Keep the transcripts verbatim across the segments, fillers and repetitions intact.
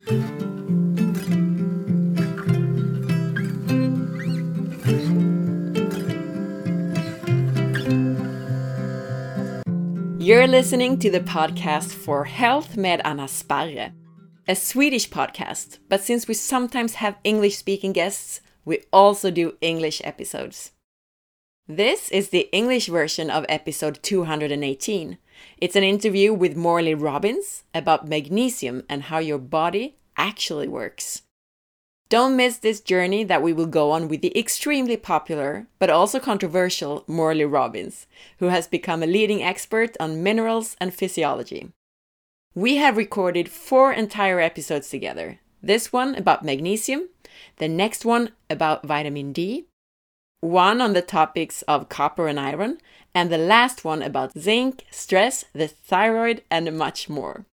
You're listening to the podcast For Health med Anna Sparre, a Swedish podcast, but since we sometimes have English-speaking guests, we also do English episodes. This is the English version of episode two hundred eighteen. It's an interview with Morley Robbins about magnesium and how your body actually works. Don't miss this journey that we will go on with the extremely popular, but also controversial Morley Robbins, who has become a leading expert on minerals and physiology. We have recorded four entire episodes together. This one about magnesium, the next one about vitamin D, one on the topics of copper and iron, and the last one about zinc, stress, the thyroid, and much more.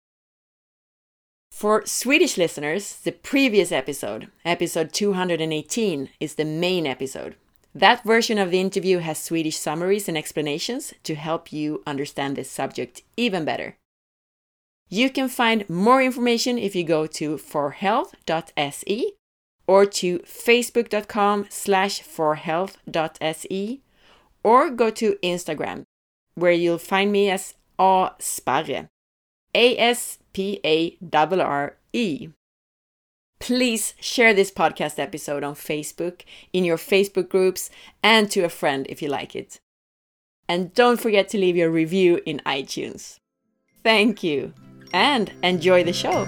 For Swedish listeners, the previous episode, episode two hundred eighteen, is the main episode. That version of the interview has Swedish summaries and explanations to help you understand this subject even better. You can find more information if you go to forhealth dot se or to facebook.com slash forhealth.se or go to Instagram, where you'll find me as A Sparre, A S P A R R E. Please share this podcast episode on Facebook, in your Facebook groups, and to a friend if you like it. And don't forget to leave your review in iTunes. Thank you, and enjoy the show.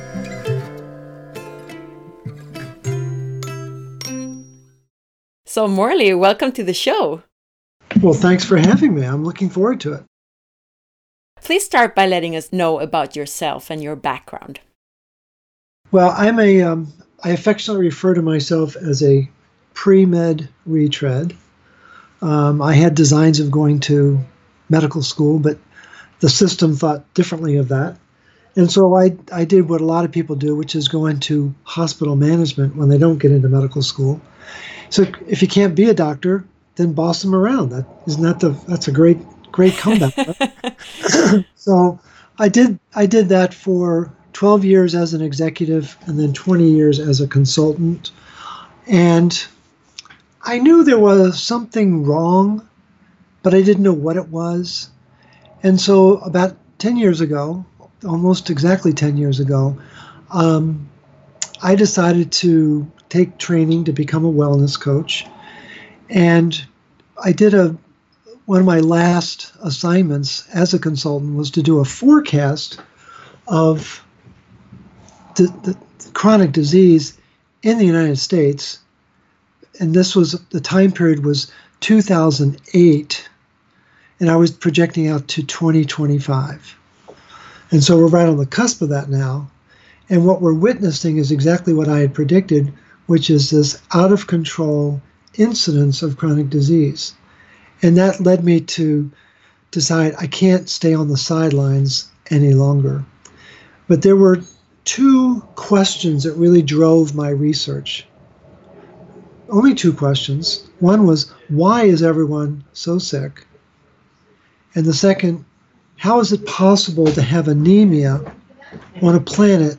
So Morley, welcome to the show. Well, thanks for having me. I'm looking forward to it. Please start by letting us know about yourself and your background. Well, I'm a, um, I affectionately refer to myself as a pre-med retread. Um, I had designs of going to medical school, but the system thought differently of that. And so I, I did what a lot of people do, which is go into hospital management when they don't get into medical school. So if you can't be a doctor, then boss them around. That isn't that the, that's a great Great comeback. Right? So I did I did that for twelve years as an executive and then twenty years as a consultant. And I knew there was something wrong, but I didn't know what it was. And so about ten years ago, almost exactly ten years ago, um, I decided to take training to become a wellness coach. And I did a One of my last assignments as a consultant was to do a forecast of the, the chronic disease in the United States. And this was, the time period was two thousand eight, and I was projecting out to twenty twenty-five. And so we're right on the cusp of that now. And what we're witnessing is exactly what I had predicted, which is this out of control incidence of chronic disease. And that led me to decide I can't stay on the sidelines any longer. But there were two questions that really drove my research. Only two questions. One was, why is everyone so sick? And the second, how is it possible to have anemia on a planet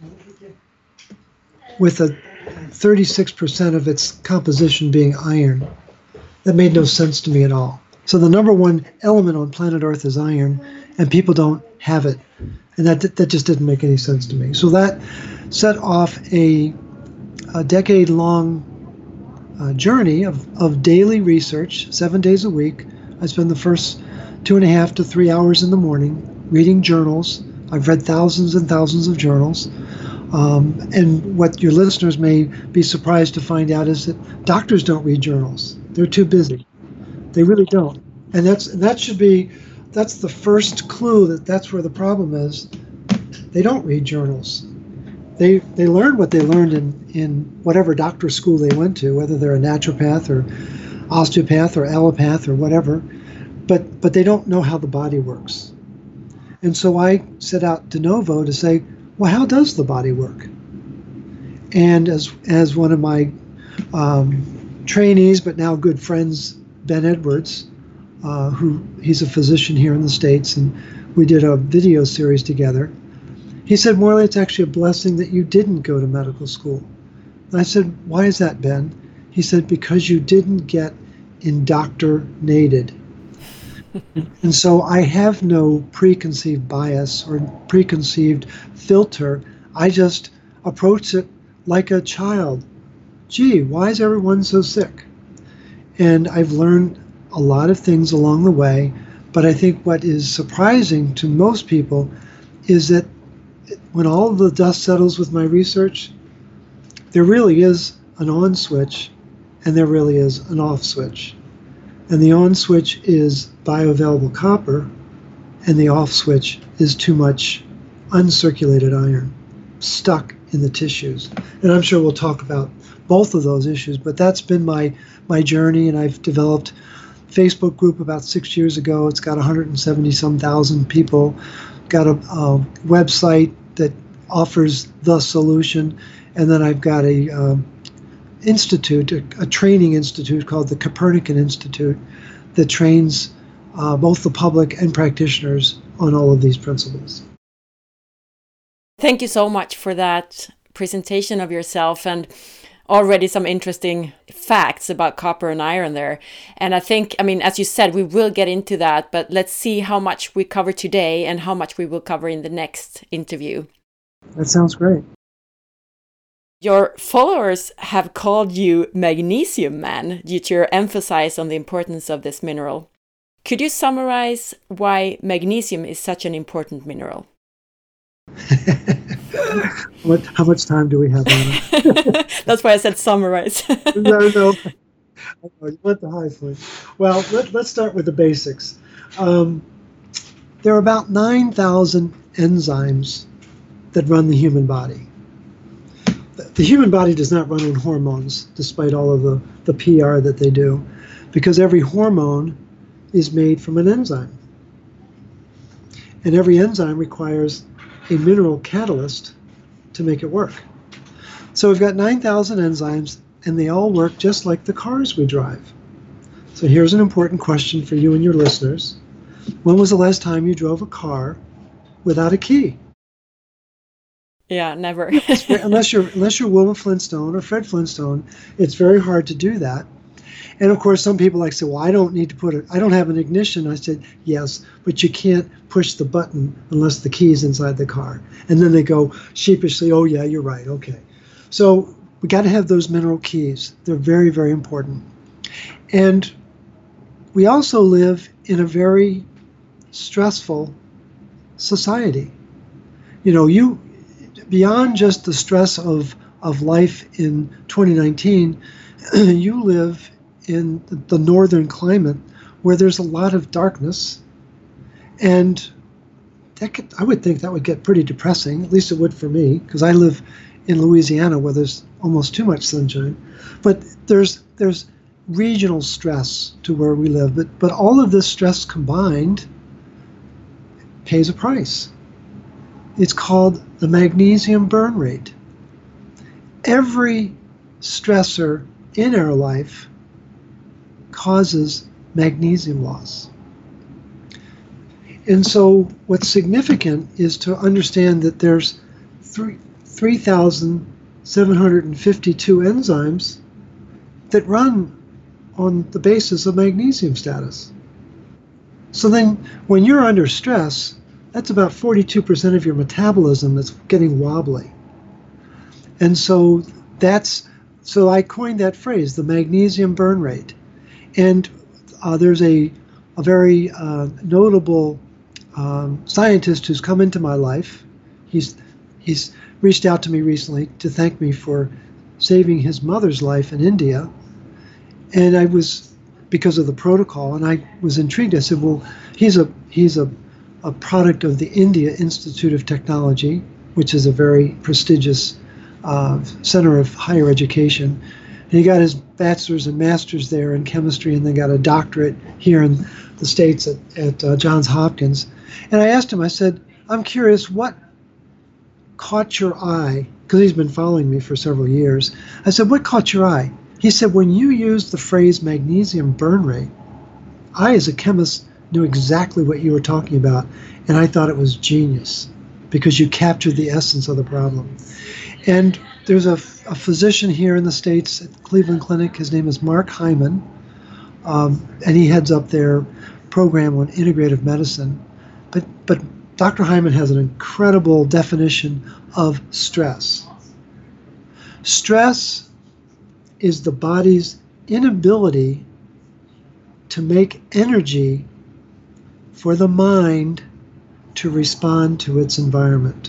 with a thirty-six percent of its composition being iron? That made no sense to me at all. So the number one element on planet Earth is iron, and people don't have it. And that that just didn't make any sense to me. So that set off a, a decade-long uh, journey of, of daily research, seven days a week. I spend the first two and a half to three hours in the morning reading journals. I've read thousands and thousands of journals. Um, and what your listeners may be surprised to find out is that doctors don't read journals. They're too busy. They really don't. And that's that should be, that's the first clue that that's where the problem is. They don't read journals. They they learn what they learned in, in whatever doctor school they went to, whether they're a naturopath or osteopath or allopath or whatever, but but they don't know how the body works. And so I set out de novo to say, well, how does the body work? And as as one of my um, trainees, but now good friends, Ben Edwards, uh, who he's a physician here in the States, and we did a video series together. He said, Morley, it's actually a blessing that you didn't go to medical school. And I said, why is that, Ben? He said, because you didn't get indoctrinated. And so I have no preconceived bias or preconceived filter. I just approach it like a child. Gee, why is everyone so sick? And I've learned a lot of things along the way, but I think what is surprising to most people is that when all of the dust settles with my research, there really is an on switch and there really is an off switch. And the on switch is bioavailable copper, and the off switch is too much uncirculated iron stuck in the tissues. And I'm sure we'll talk about both of those issues, but that's been my, my journey, and I've developed a Facebook group about six years ago. It's got one hundred seventy some thousand people, got a, a website that offers the solution, and then I've got a um, institute, a, a training institute called the Copernican Institute that trains uh, both the public and practitioners on all of these principles. Thank you so much for that presentation of yourself, and already some interesting facts about copper and iron there. And I think, I mean, as you said, we will get into that, but let's see how much we cover today and how much we will cover in the next interview. That sounds great. Your followers have called you Magnesium Man due to your emphasis on the importance of this mineral. Could you summarize why magnesium is such an important mineral? What? How much time do we have on it? That's why I said summarize. no, no. Oh, you went the high point. Well, let, let's start with the basics. Um, there are about nine thousand enzymes that run the human body. The human body does not run on hormones, despite all of the, the P R that they do, because every hormone is made from an enzyme. And every enzyme requires a mineral catalyst to make it work. So we've got nine thousand enzymes, and they all work just like the cars we drive. So here's an important question for you and your listeners. When was the last time you drove a car without a key? Yeah, never. unless you're unless you're Wilma Flintstone or Fred Flintstone, it's very hard to do that. And of course, some people like say, "Well, I don't need to put it. I don't have an ignition." I said, "Yes, but you can't push the button unless the key is inside the car." And then they go sheepishly, "Oh yeah, you're right. Okay." So we got to have those mineral keys. They're very, very important. And we also live in a very stressful society. You know, you. Beyond just the stress of, of life in twenty nineteen, you live in the northern climate where there's a lot of darkness, and that could, I would think that would get pretty depressing, at least it would for me, because I live in Louisiana where there's almost too much sunshine. But there's there's regional stress to where we live, but, but all of this stress combined pays a price. It's called the magnesium burn rate. Every stressor in our life causes magnesium loss. And so what's significant is to understand that there's three thousand seven hundred fifty-two enzymes that run on the basis of magnesium status. So then when you're under stress, that's about forty-two percent of your metabolism that's getting wobbly. And so that's, so I coined that phrase, the magnesium burn rate. And uh, there's a, a very uh, notable um, scientist who's come into my life. He's, he's reached out to me recently to thank me for saving his mother's life in India. And I was, because of the protocol, and I was intrigued. I said, well, he's a, he's a, a product of the India Institute of Technology, which is a very prestigious uh, center of higher education. And he got his bachelor's and master's there in chemistry, and then got a doctorate here in the States at, at uh, Johns Hopkins. And I asked him, I said, I'm curious, what caught your eye? Because he's been following me for several years. I said, what caught your eye? He said, when you used the phrase magnesium burn rate, I, as a chemist, knew exactly what you were talking about, and I thought it was genius, because you captured the essence of the problem. And there's a, a physician here in the States at Cleveland Clinic. His name is Mark Hyman, um, and he heads up their program on integrative medicine. But, but Doctor Hyman has an incredible definition of stress. Stress is the body's inability to make energy for the mind to respond to its environment.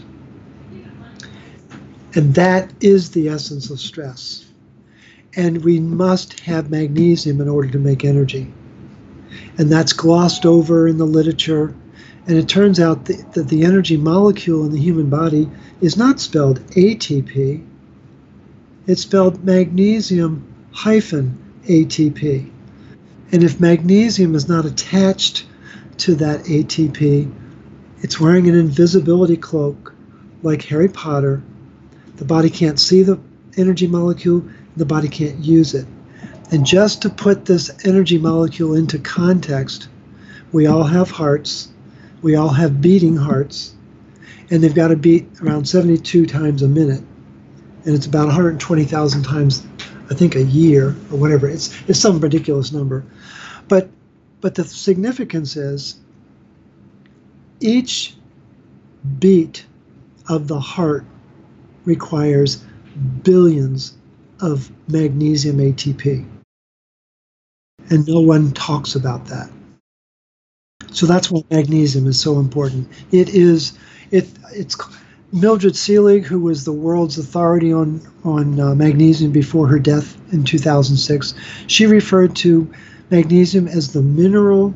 And that is the essence of stress. And we must have magnesium in order to make energy. And that's glossed over in the literature. And it turns out that, that the energy molecule in the human body is not spelled A T P. It's spelled magnesium hyphen A T P. And if magnesium is not attached to that A T P, it's wearing an invisibility cloak like Harry Potter. The body can't see the energy molecule, the body can't use it. And just to put this energy molecule into context, we all have hearts, we all have beating hearts, and they've got to beat around seventy-two times a minute. And it's about one hundred twenty thousand times, I think, a year or whatever. It's it's some ridiculous number. But but the significance is each beat of the heart requires billions of magnesium A T P. And no one talks about that. So that's why magnesium is so important. It is, it it's Mildred Seelig, who was the world's authority on, on uh, magnesium before her death in two thousand six, she referred to magnesium as the mineral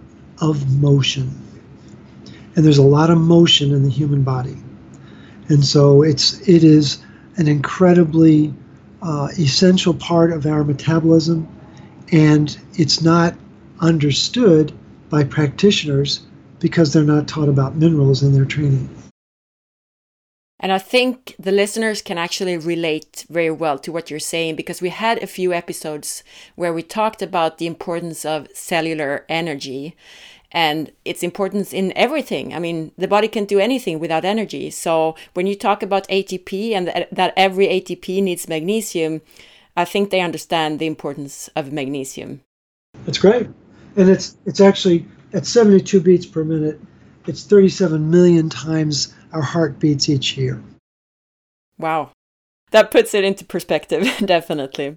of motion. And there's a lot of motion in the human body. And so it's it is an incredibly uh, essential part of our metabolism, and it's not understood by practitioners because they're not taught about minerals in their training. And I think the listeners can actually relate very well to what you're saying, because we had a few episodes where we talked about the importance of cellular energy and its importance in everything. I mean, the body can't do anything without energy. So when you talk about A T P and that every A T P needs magnesium, I think they understand the importance of magnesium. That's great. And it's it's actually at seventy-two beats per minute, it's thirty-seven million times our heart beats each year. Wow. That puts it into perspective, definitely.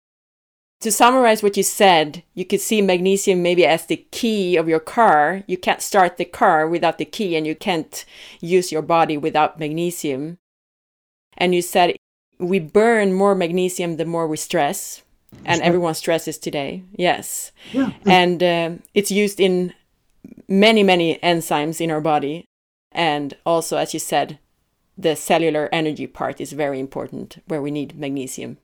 To summarize what you said, you could see magnesium maybe as the key of your car. You can't start the car without the key, and you can't use your body without magnesium. And you said we burn more magnesium the more we stress, and right. Everyone stresses today. Yes. Yeah. And uh, it's used in many, many enzymes in our body. And also, as you said, the cellular energy part is very important, where we need magnesium.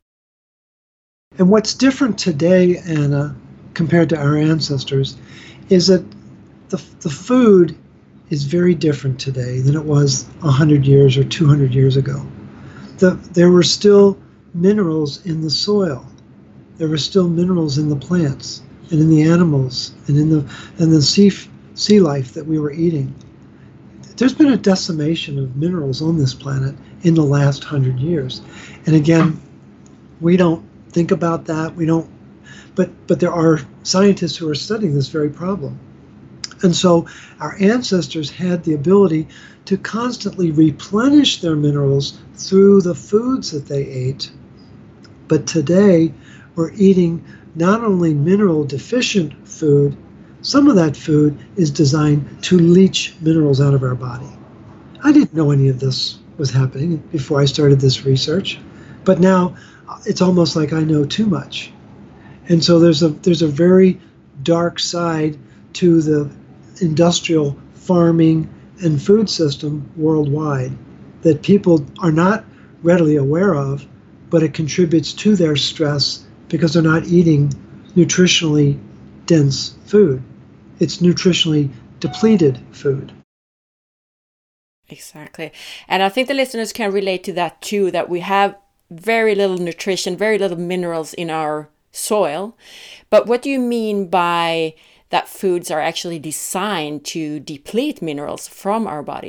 And what's different today, Anna, compared to our ancestors, is that the the food is very different today than it was one hundred years or two hundred years ago. The, there were still minerals in the soil. There were still minerals in the plants and in the animals and in the and the sea, sea life that we were eating. There's been a decimation of minerals on this planet in the last hundred years. And again, we don't think about that. We don't, but but there are scientists who are studying this very problem. And so our ancestors had the ability to constantly replenish their minerals through the foods that they ate. But today we're eating not only mineral deficient food, some of that food is designed to leach minerals out of our body. I didn't know any of this was happening before I started this research, but now it's almost like I know too much. And so there's a there's a very dark side to the industrial farming and food system worldwide that people are not readily aware of, but it contributes to their stress because they're not eating nutritionally dense food. It's nutritionally depleted food. Exactly. And I think the listeners can relate to that too, that we have very little nutrition, very little minerals in our soil. But what do you mean by that foods are actually designed to deplete minerals from our bodies?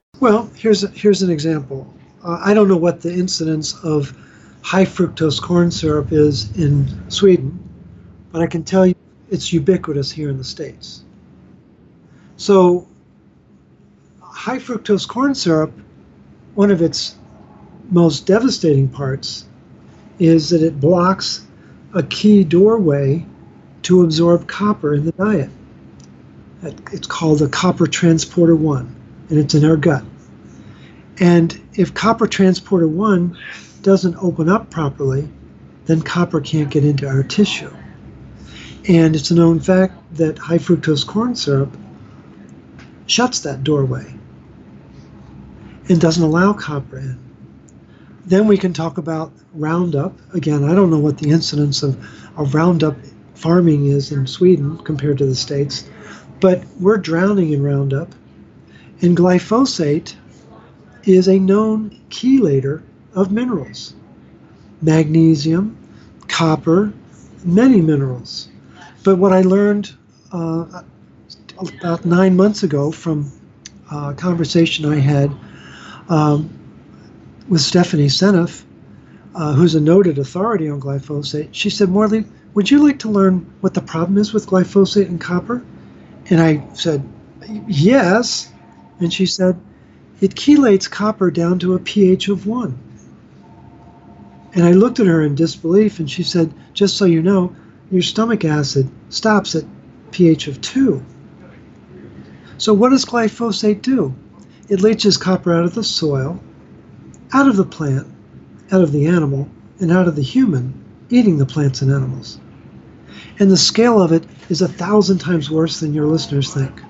Well, here's a, here's an example. Uh, I don't know what the incidence of high fructose corn syrup is in Sweden, but I can tell you it's ubiquitous here in the States. So, high fructose corn syrup, one of its most devastating parts is that it blocks a key doorway to absorb copper in the diet. It's called the copper transporter one, and it's in our gut. And if copper transporter one doesn't open up properly, then copper can't get into our tissue. And it's a known fact that high fructose corn syrup shuts that doorway and doesn't allow copper in. Then we can talk about Roundup. Again, I don't know what the incidence of, of Roundup farming is in Sweden compared to the States, but we're drowning in Roundup. And glyphosate is a known chelator of minerals. Magnesium, copper, many minerals. But what I learned uh, about nine months ago from a conversation I had um, with Stephanie Seneff, uh, who's a noted authority on glyphosate, she said, Morley, would you like to learn what the problem is with glyphosate and copper? And I said, yes. And she said, it chelates copper down to a pH of one. And I looked at her in disbelief, and she said, just so you know, your stomach acid stops at pH of two. So what does glyphosate do? It leaches copper out of the soil, out of the plant, out of the animal, and out of the human, eating the plants and animals. And the scale of it is a thousand times worse than your listeners think.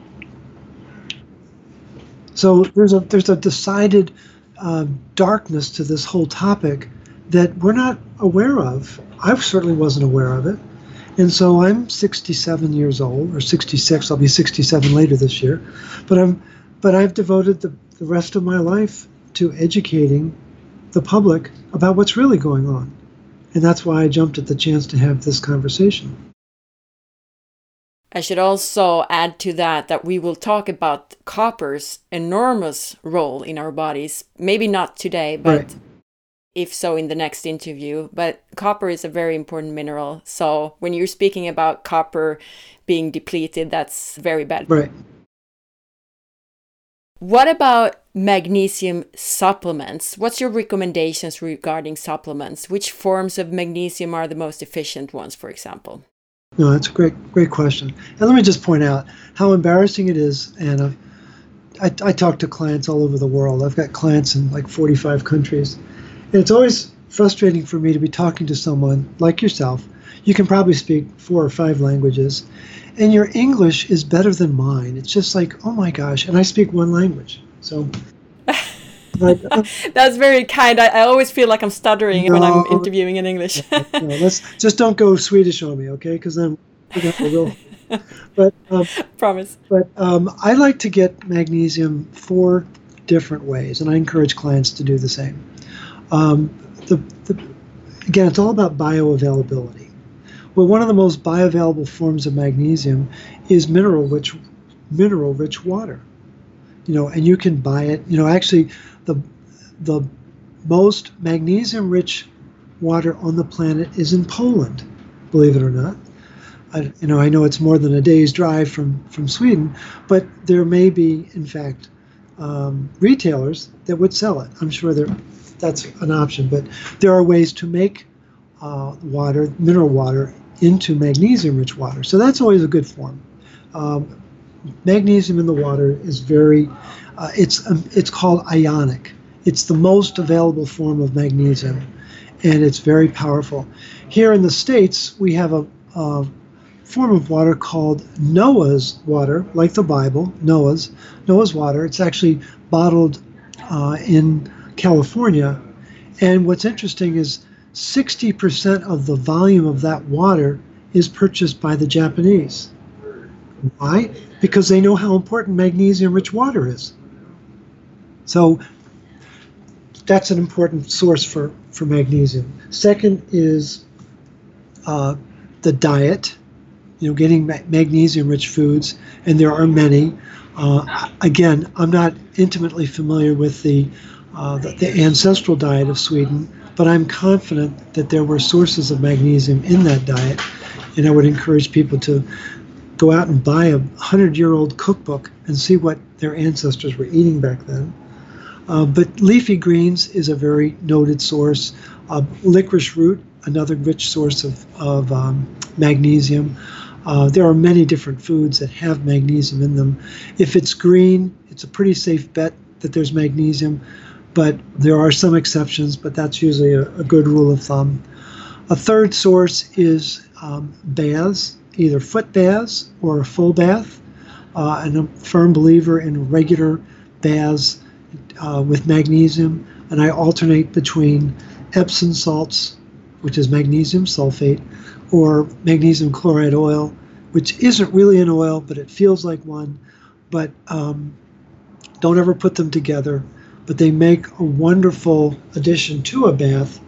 So there's a there's a decided uh, darkness to this whole topic that we're not aware of. I certainly wasn't aware of it. And so I'm sixty-seven years old, or sixty-six. I'll be sixty-seven later this year. But I'm but I've devoted the, the rest of my life to educating the public about what's really going on. And that's why I jumped at the chance to have this conversation. I should also add to that that we will talk about copper's enormous role in our bodies. Maybe not today, but Right. if so in the next interview. But copper is a very important mineral. So when you're speaking about copper being depleted, that's very bad. Right. What about magnesium supplements? What's your recommendations regarding supplements? Which forms of magnesium are the most efficient ones, for example? No, that's a great, great question. And let me just point out how embarrassing it is, Anna. I, I talk to clients all over the world. I've got clients in like forty-five countries. And it's always frustrating for me to be talking to someone like yourself. You can probably speak four or five languages, and your English is better than mine. It's just like, oh my gosh, and I speak one language. So but, uh, that's very kind. I, I always feel like I'm stuttering no, when I'm interviewing in English. no, let's just don't go Swedish on me, okay? Because then we're gonna have a real. But um, promise. But um, I like to get magnesium four different ways, and I encourage clients to do the same. Um, the, the, again, it's all about bioavailability. Well, one of the most bioavailable forms of magnesium is mineral-rich, mineral-rich water. You know, and you can buy it. You know, actually, the the most magnesium-rich water on the planet is in Poland, believe it or not. I, you know, I know it's more than a day's drive from, from Sweden, but there may be, in fact, um, retailers that would sell it. I'm sure there, that's an option, but there are ways to make uh, water, mineral water, into magnesium-rich water. So that's always a good form. Um, magnesium in the water is very, uh, it's um, it's called ionic. It's the most available form of magnesium, and it's very powerful. Here in the States, we have a, a form of water called Noah's water, like the Bible, Noah's, Noah's water. It's actually bottled uh, in California. And what's interesting is sixty percent of the volume of that water is purchased by the Japanese. Why? Because they know how important magnesium-rich water is. So that's an important source for, for magnesium. Second is uh, the diet. you know, getting ma- magnesium-rich foods, and there are many. Uh, again, I'm not intimately familiar with the, uh, the the ancestral diet of Sweden, but I'm confident that there were sources of magnesium in that diet, and I would encourage people to go out and buy a hundred-year-old cookbook and see what their ancestors were eating back then. Uh, but leafy greens is a very noted source. Uh, licorice root, another rich source of, of um, magnesium. Uh, there are many different foods that have magnesium in them. If it's green, it's a pretty safe bet that there's magnesium, but there are some exceptions, but that's usually a, a good rule of thumb. A third source is um, baths, either foot baths or a full bath. Uh, and I'm a firm believer in regular baths uh, with magnesium, and I alternate between Epsom salts, which is magnesium sulfate, or magnesium chloride oil, which isn't really an oil, but it feels like one. But um, don't ever put them together. But they make a wonderful addition to a bath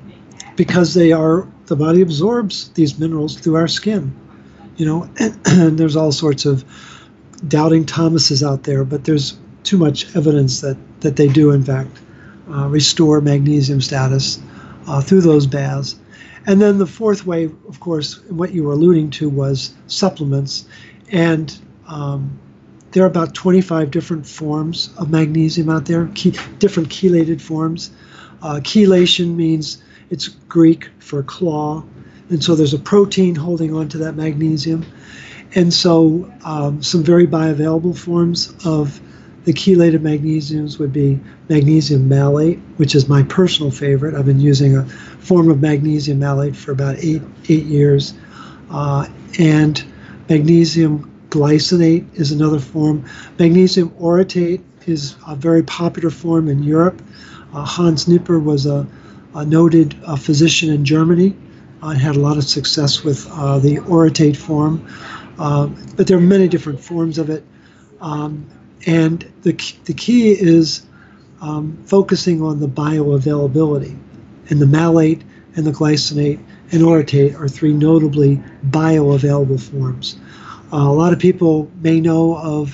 because they are, the body absorbs these minerals through our skin. You know, and, and there's all sorts of doubting Thomases out there, but there's too much evidence that, that they do, in fact, uh, restore magnesium status uh, through those baths. And then the fourth way, of course, what you were alluding to was supplements. And um, there are about twenty-five different forms of magnesium out there, Che- different chelated forms. Uh, chelation means it's Greek for claw. And so there's a protein holding on to that magnesium. And so um, some very bioavailable forms of the chelated magnesiums would be magnesium malate, which is my personal favorite. I've been using a form of magnesium malate for about eight, eight years. Uh, and magnesium glycinate is another form. Magnesium orotate is a very popular form in Europe. Uh, Hans Nipper was a, a noted uh, physician in Germany. I had a lot of success with uh, the orotate form, uh, but there are many different forms of it. Um, and the, the key is um, focusing on the bioavailability. And the malate and the glycinate and orotate are three notably bioavailable forms. Uh, a lot of people may know of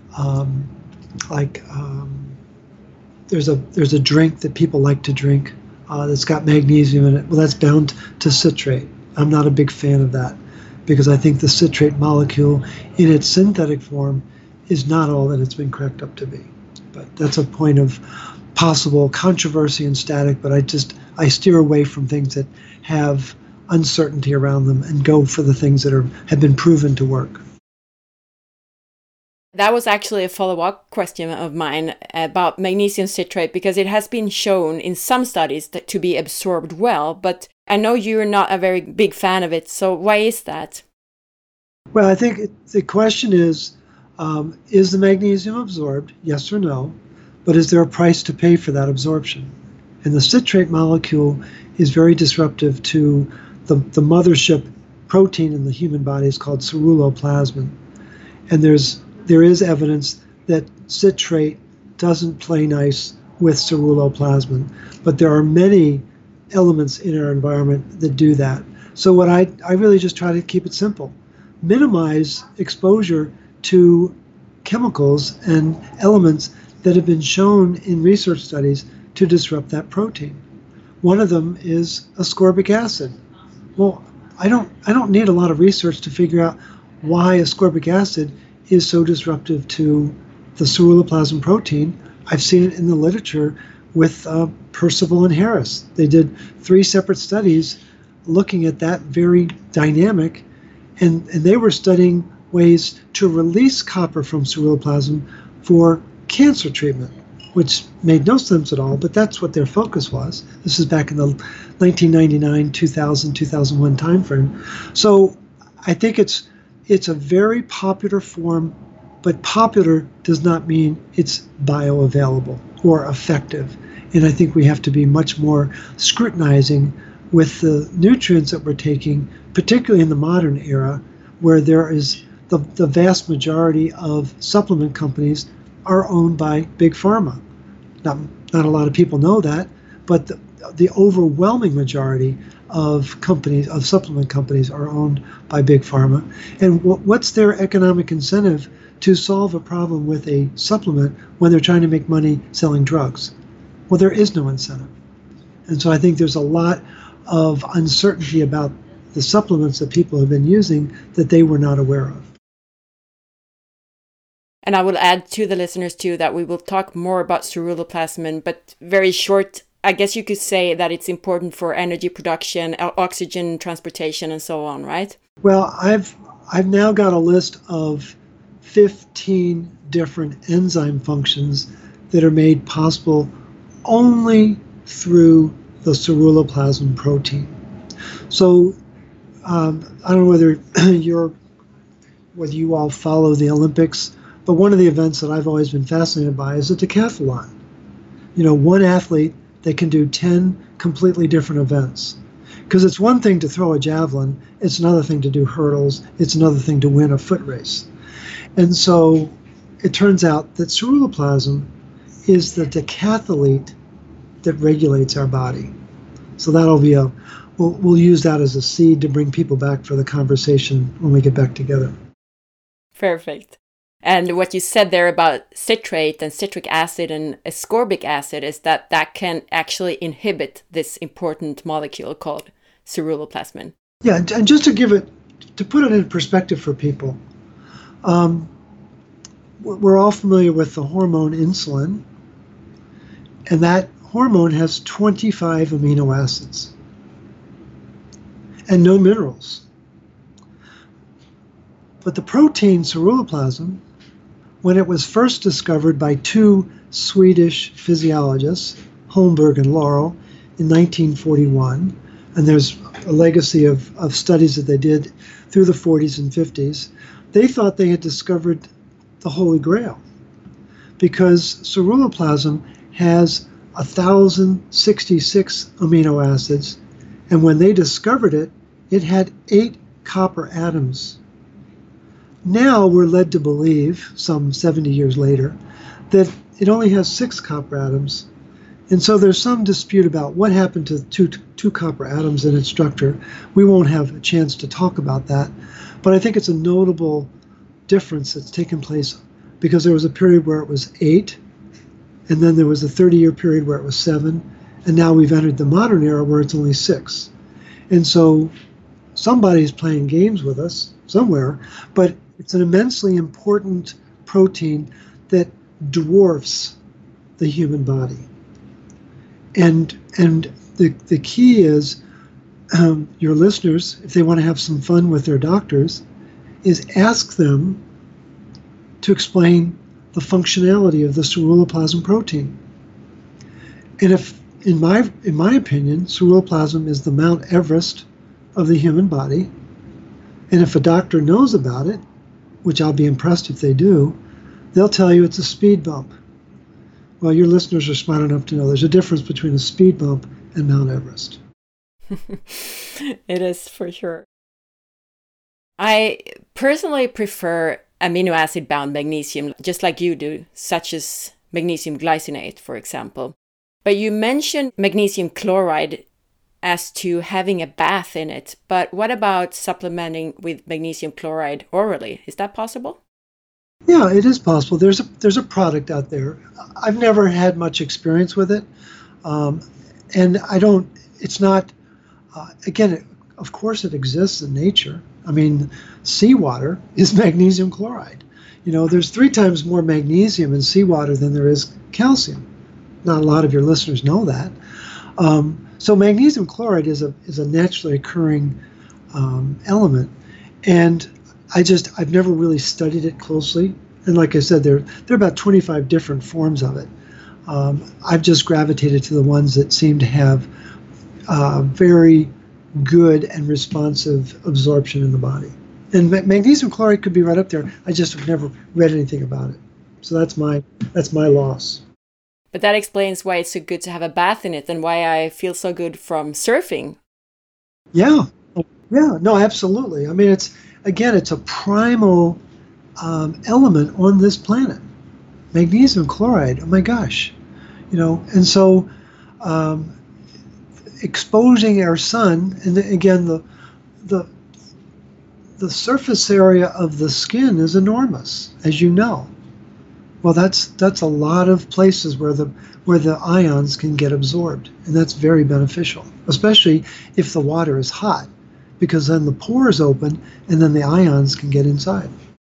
um, like um, there's a there's a drink that people like to drink uh, that's got magnesium in it. Well, that's bound to citrate. I'm not a big fan of that because I think the citrate molecule in its synthetic form is not all that it's been cracked up to be. But that's a point of possible controversy and static, but I just I steer away from things that have uncertainty around them and go for the things that are have been proven to work. That was actually a follow-up question of mine about magnesium citrate, because it has been shown in some studies that to be absorbed well, but I know you're not a very big fan of it, so why is that? Well, I think the question is, um, is the magnesium absorbed? Yes or no? But is there a price to pay for that absorption? And the citrate molecule is very disruptive to the, the mothership protein in the human body is called ceruloplasmin. And there's there is evidence that citrate doesn't play nice with ceruloplasmin, but there are many elements in our environment that do that. So what I, I really just try to keep it simple. Minimize exposure to chemicals and elements that have been shown in research studies to disrupt that protein. One of them is ascorbic acid. Well, I don't I don't need a lot of research to figure out why ascorbic acid is so disruptive to the ceruloplasmin protein. I've seen it in the literature with uh, Percival and Harris. They did three separate studies looking at that very dynamic, and, and they were studying ways to release copper from ceruloplasmin for cancer treatment, which made no sense at all, but that's what their focus was. This is back in the nineteen ninety-nine, two thousand, two thousand one timeframe. So I think it's it's a very popular form, but popular does not mean it's bioavailable or effective. And I think we have to be much more scrutinizing with the nutrients that we're taking, particularly in the modern era, where there is the, the vast majority of supplement companies are owned by big pharma. Not, not a lot of people know that, but the, the overwhelming majority of companies, of supplement companies, are owned by big pharma. And w- what's their economic incentive to solve a problem with a supplement when they're trying to make money selling drugs? Well, there is no incentive. And so I think there's a lot of uncertainty about the supplements that people have been using that they were not aware of. And I will add to the listeners too that we will talk more about ceruloplasmin, but very short, I guess you could say that it's important for energy production, oxygen transportation, and so on, right? Well, I've I've now got a list of fifteen different enzyme functions that are made possible only through the ceruloplasmin protein. So um, I don't know whether you're whether you all follow the Olympics, but one of the events that I've always been fascinated by is a decathlon. You know, one athlete that can do ten completely different events. Because it's one thing to throw a javelin, it's another thing to do hurdles, it's another thing to win a foot race. And so it turns out that ceruloplasmin is the decathlete that regulates our body. So that'll be a, we'll, we'll use that as a seed to bring people back for the conversation when we get back together. Perfect. And what you said there about citrate and citric acid and ascorbic acid is that that can actually inhibit this important molecule called ceruloplasmin. Yeah, and just to give it, to put it in perspective for people, um, we're all familiar with the hormone insulin, and that hormone has twenty-five amino acids and no minerals. But the protein ceruloplasmin, when it was first discovered by two Swedish physiologists, Holmberg and Laurel, in nineteen forty-one, and there's a legacy of, of studies that they did through the forties and fifties, they thought they had discovered the Holy Grail, because ceruloplasmin has one thousand sixty-six amino acids, and when they discovered it, it had eight copper atoms. Now we're led to believe, some seventy years later, that it only has six copper atoms. And so there's some dispute about what happened to two, two copper atoms in its structure. We won't have a chance to talk about that. But I think it's a notable difference that's taken place, because there was a period where it was eight, and then there was a thirty-year period where it was seven, and now we've entered the modern era where it's only six. And so somebody's playing games with us somewhere, but it's an immensely important protein that dwarfs the human body. And and the, the key is, um, your listeners, if they want to have some fun with their doctors, is ask them to explain the functionality of the ceruloplasmin protein. And if, in my in my opinion, ceruloplasmin is the Mount Everest of the human body, and if a doctor knows about it, which I'll be impressed if they do, they'll tell you it's a speed bump. Well, your listeners are smart enough to know there's a difference between a speed bump and Mount Everest. It is, for sure. I personally prefer amino acid bound magnesium, just like you do, such as magnesium glycinate, for example. But you mentioned magnesium chloride as to having a bath in it. But what about supplementing with magnesium chloride orally? Is that possible? Yeah, it is possible. There's a there's a product out there. I've never had much experience with it, um, and I don't. It's not. Uh, again, it, of course, it exists in nature. I mean, seawater is magnesium chloride. You know, there's three times more magnesium in seawater than there is calcium. Not a lot of your listeners know that. Um, so magnesium chloride is a is a naturally occurring um, element, and I just, I've never really studied it closely. And like I said, there, there are about twenty-five different forms of it. Um, I've just gravitated to the ones that seem to have uh, very good and responsive absorption in the body. And ma- magnesium chloride could be right up there. I just have never read anything about it. So that's my, that's my loss. But that explains why it's so good to have a bath in it and why I feel so good from surfing. Yeah. Yeah, no, absolutely. I mean, it's, again, it's a primal um, element on this planet. Magnesium chloride, oh my gosh. You know, and so um, exposing our sun, and again, the the the surface area of the skin is enormous, as you know. Well, that's that's a lot of places where the where the ions can get absorbed, and that's very beneficial, especially if the water is hot, because then the pores open and then the ions can get inside.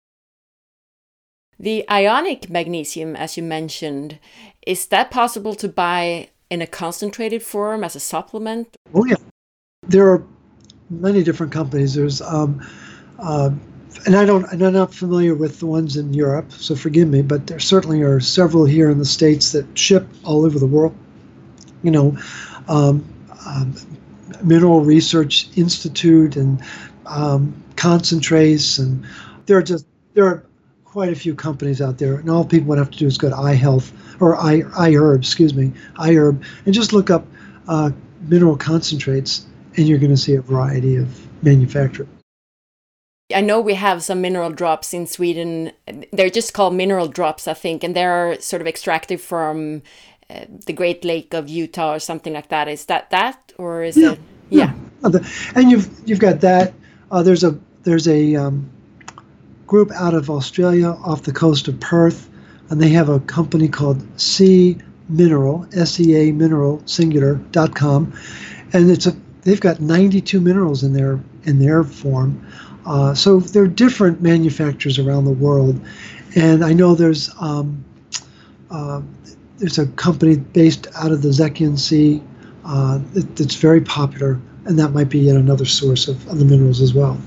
The ionic magnesium, as you mentioned, is that possible to buy in a concentrated form as a supplement? Oh yeah, there are many different companies. There's um, uh, and I don't, and I'm not familiar with the ones in Europe, so forgive me, but there certainly are several here in the States that ship all over the world. You know, um, um, Mineral Research Institute and um, Concentrace, and there are just there are quite a few companies out there, and all people would have to do is go to iHealth or I, iHerb, excuse me, iHerb, and just look up uh, mineral concentrates, and you're going to see a variety of manufacturers. I know we have some mineral drops in Sweden. They're just called mineral drops, I think, and they're sort of extracted from uh, the Great Lake of Utah or something like that. Is that that, or is yeah, it? Yeah. yeah. And you've you've got that. Uh, there's a there's a um, group out of Australia off the coast of Perth, and they have a company called Sea Mineral, S E A Mineral Singular dot com, and it's a they've got ninety-two minerals in their in their form. Uh, so there are different manufacturers around the world, and I know there's um, uh, there's a company based out of the Zekian Sea uh, that, that's very popular, and that might be yet another source of, of the minerals as well.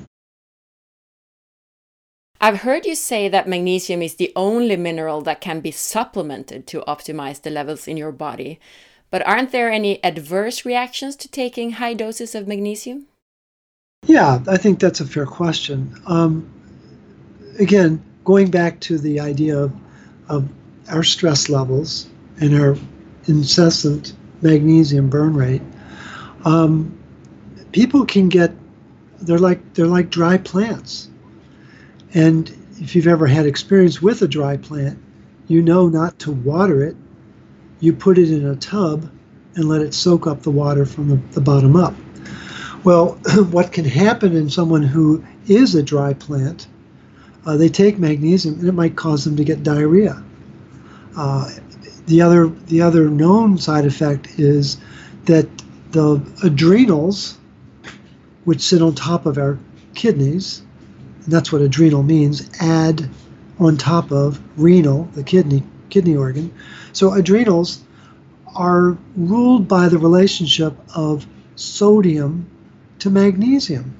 I've heard you say that magnesium is the only mineral that can be supplemented to optimize the levels in your body, but aren't there any adverse reactions to taking high doses of magnesium? Yeah, I think that's a fair question. Um, again, going back to the idea of, of our stress levels and our incessant magnesium burn rate, um, people can get, they're like, they're like dry plants. And if you've ever had experience with a dry plant, you know not to water it. You put it in a tub and let it soak up the water from the, the bottom up. Well, what can happen in someone who is a dry plant, uh, they take magnesium and it might cause them to get diarrhea. Uh, the other the other known side effect is that the adrenals, which sit on top of our kidneys, and that's what adrenal means, add on top of renal, the kidney kidney organ. So adrenals are ruled by the relationship of sodium to magnesium.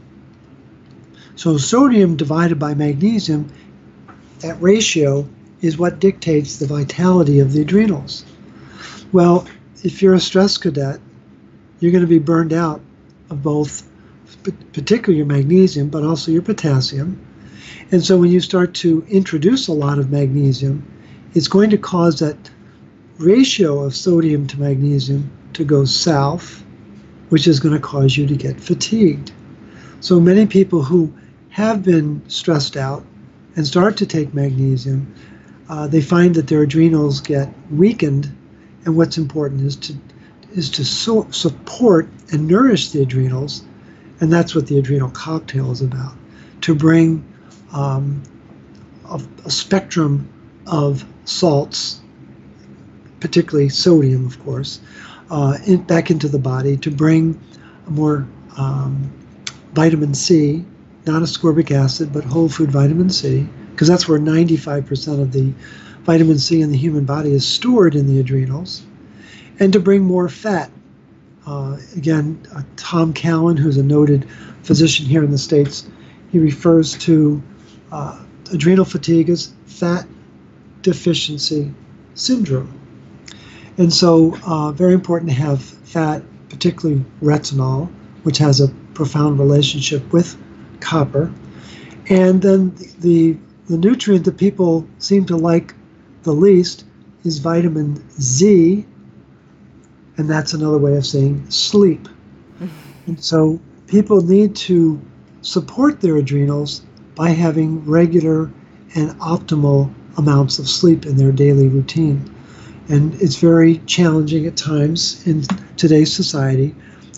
So sodium divided by magnesium, that ratio is what dictates the vitality of the adrenals. Well, if you're a stress cadet, you're going to be burned out of both, particularly your magnesium, but also your potassium. And so when you start to introduce a lot of magnesium, it's going to cause that ratio of sodium to magnesium to go south, which is going to cause you to get fatigued. So many people who have been stressed out and start to take magnesium, uh, they find that their adrenals get weakened, and what's important is to is to so support and nourish the adrenals, and that's what the adrenal cocktail is about, to bring um, a, a spectrum of salts, particularly sodium, of course, uh, in, back into the body, to bring more um, vitamin C, not ascorbic acid, but whole food vitamin C, because that's where ninety-five percent of the vitamin C in the human body is stored in the adrenals, and to bring more fat. Uh, again, uh, Tom Cowan, who's a noted physician here in the States, he refers to uh, adrenal fatigue as fat deficiency syndrome. And so uh, very important to have fat, particularly retinol, which has a profound relationship with copper. And then the, the nutrient that people seem to like the least is vitamin Z, and that's another way of saying sleep. And so people need to support their adrenals by having regular and optimal amounts of sleep in their daily routine. And it's very challenging at times in today's society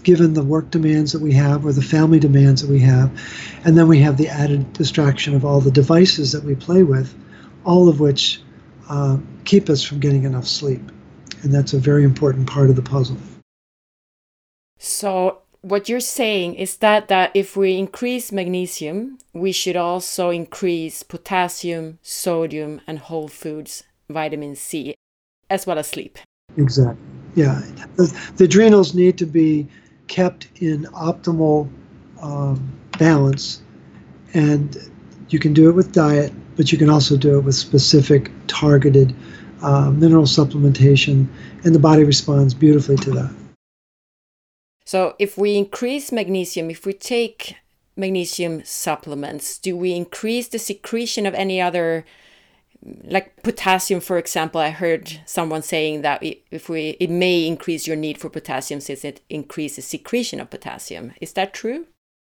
given the work demands that we have or the family demands that we have. And then we have the added distraction of all the devices that we play with, all of which uh, keep us from getting enough sleep. And that's a very important part of the puzzle. So what you're saying is that, that if we increase magnesium, we should also increase potassium, sodium, and whole foods, vitamin C, as well as sleep. Exactly. Yeah. The, the adrenals need to be kept in optimal um, balance. And you can do it with diet, but you can also do it with specific targeted uh, mineral supplementation, and the body responds beautifully to that. So if we increase magnesium, if we take magnesium supplements, do we increase the secretion of any other, like potassium, for example? I heard someone saying that if we, it may increase your need for potassium since it increases secretion of potassium. Is that true?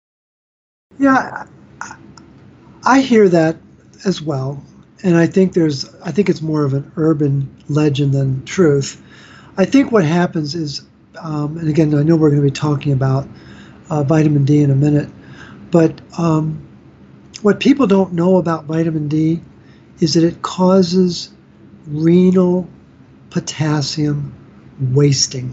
Yeah, I hear that as well. And I think there's, I think it's more of an urban legend than truth. I think what happens is, um, and again, I know we're going to be talking about uh, vitamin D in a minute, but um, what people don't know about vitamin D is that it causes renal potassium wasting.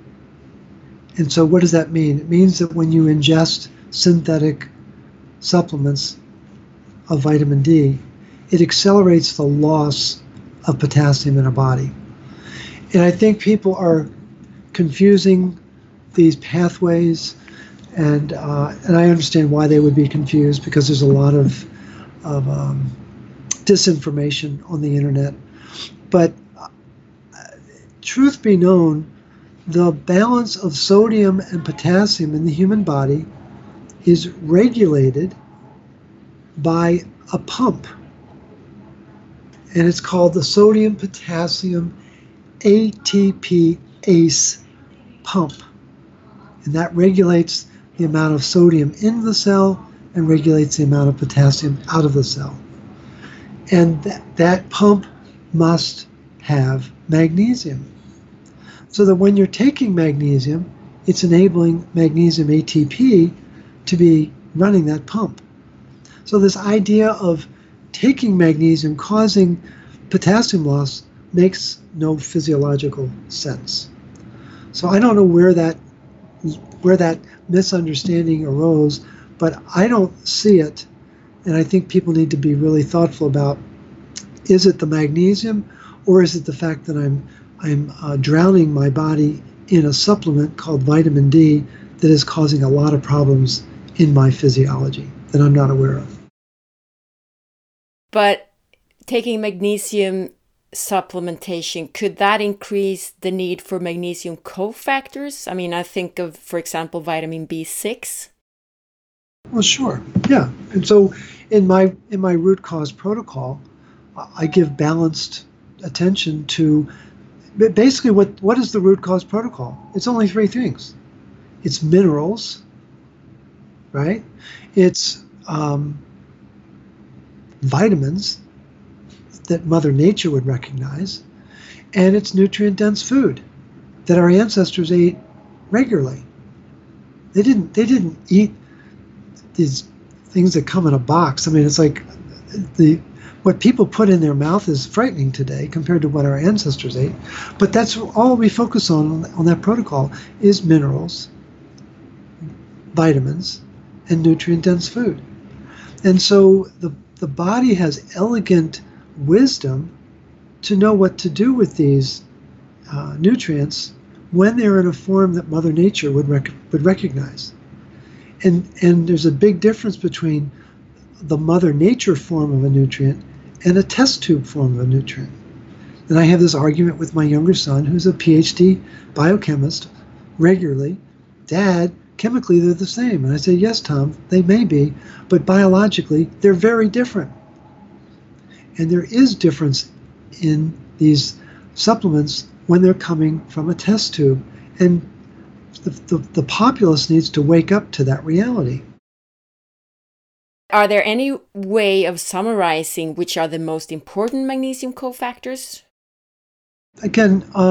And so what does that mean? It means that when you ingest synthetic supplements of vitamin D, it accelerates the loss of potassium in our body. And I think people are confusing these pathways, and uh, and I understand why they would be confused, because there's a lot of, of um, disinformation on the internet. But uh, truth be known, the balance of sodium and potassium in the human body is regulated by a pump. And it's called the sodium potassium A T P A C E pump. And that regulates the amount of sodium in the cell and regulates the amount of potassium out of the cell. And that, that pump must have magnesium. So that when you're taking magnesium, it's enabling magnesium A T P to be running that pump. So this idea of taking magnesium causing potassium loss makes no physiological sense. So I don't know where that where that misunderstanding arose, but I don't see it. And I think people need to be really thoughtful about, is it the magnesium, or is it the fact that I'm I'm uh, drowning my body in a supplement called vitamin D that is causing a lot of problems in my physiology that I'm not aware of. But taking magnesium supplementation, could that increase the need for magnesium cofactors? I mean, I think of, for example, vitamin B six. Well, sure. Yeah. And so in my in my root cause protocol, I give balanced attention to basically what, what is the root cause protocol? It's only three things. It's minerals, right? It's um, vitamins that Mother Nature would recognize, and it's nutrient-dense food that our ancestors ate regularly. They didn't. They didn't eat these things that come in a box. I mean, it's like the what people put in their mouth is frightening today compared to what our ancestors ate. But that's all we focus on on that protocol is minerals, vitamins, and nutrient-dense food. And so the the body has elegant wisdom to know what to do with these uh, nutrients when they're in a form that Mother Nature would rec- would recognize. And and there's a big difference between the Mother Nature form of a nutrient and a test tube form of a nutrient. And I have this argument with my younger son, who's a P H D biochemist, regularly. Dad, chemically they're the same. And I say, yes, Tom, they may be, but biologically they're very different. And there is difference in these supplements when they're coming from a test tube. And the, the, the populace needs to wake up to that reality. Are there any way of summarizing which are the most important magnesium cofactors? Again, um,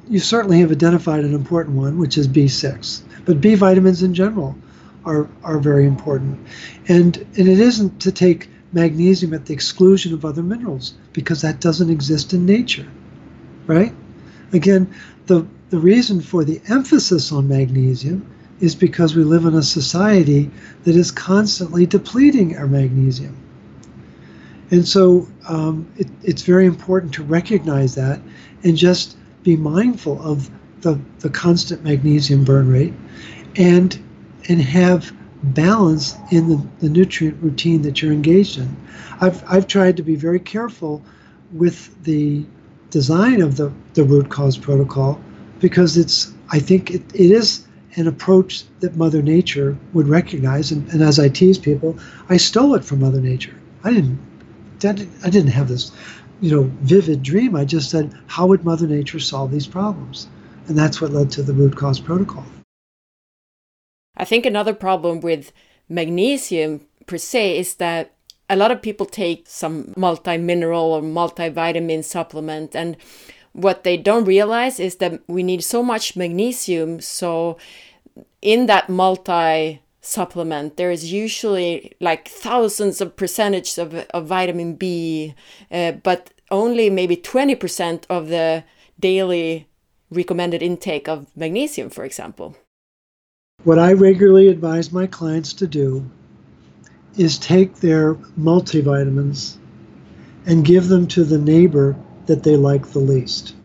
you certainly have identified an important one, which is B six. But B vitamins in general are, are very important. And, and it isn't to take magnesium at the exclusion of other minerals, because that doesn't exist in nature, right? Again, the, the reason for the emphasis on magnesium is because we live in a society that is constantly depleting our magnesium. And so um, it, it's very important to recognize that and just be mindful of the, the constant magnesium burn rate and, and have balance in the, the nutrient routine that you're engaged in. I've, I've tried to be very careful with the design of the, the root cause protocol, because it's, I think it, it is an approach that Mother Nature would recognize. And, and as I tease people, I stole it from Mother Nature. I didn't, I didn't have this, you know, vivid dream. I just said, how would Mother Nature solve these problems? And that's what led to the root cause protocol. I think another problem with magnesium per se is that a lot of people take some multi-mineral or multivitamin supplement, and what they don't realize is that we need so much magnesium. So in that multi supplement, there is usually like thousands of percentage of, of vitamin B, uh, but only maybe twenty percent of the daily recommended intake of magnesium, for example. What I regularly advise my clients to do is take their multivitamins and give them to the neighbor that they like the least.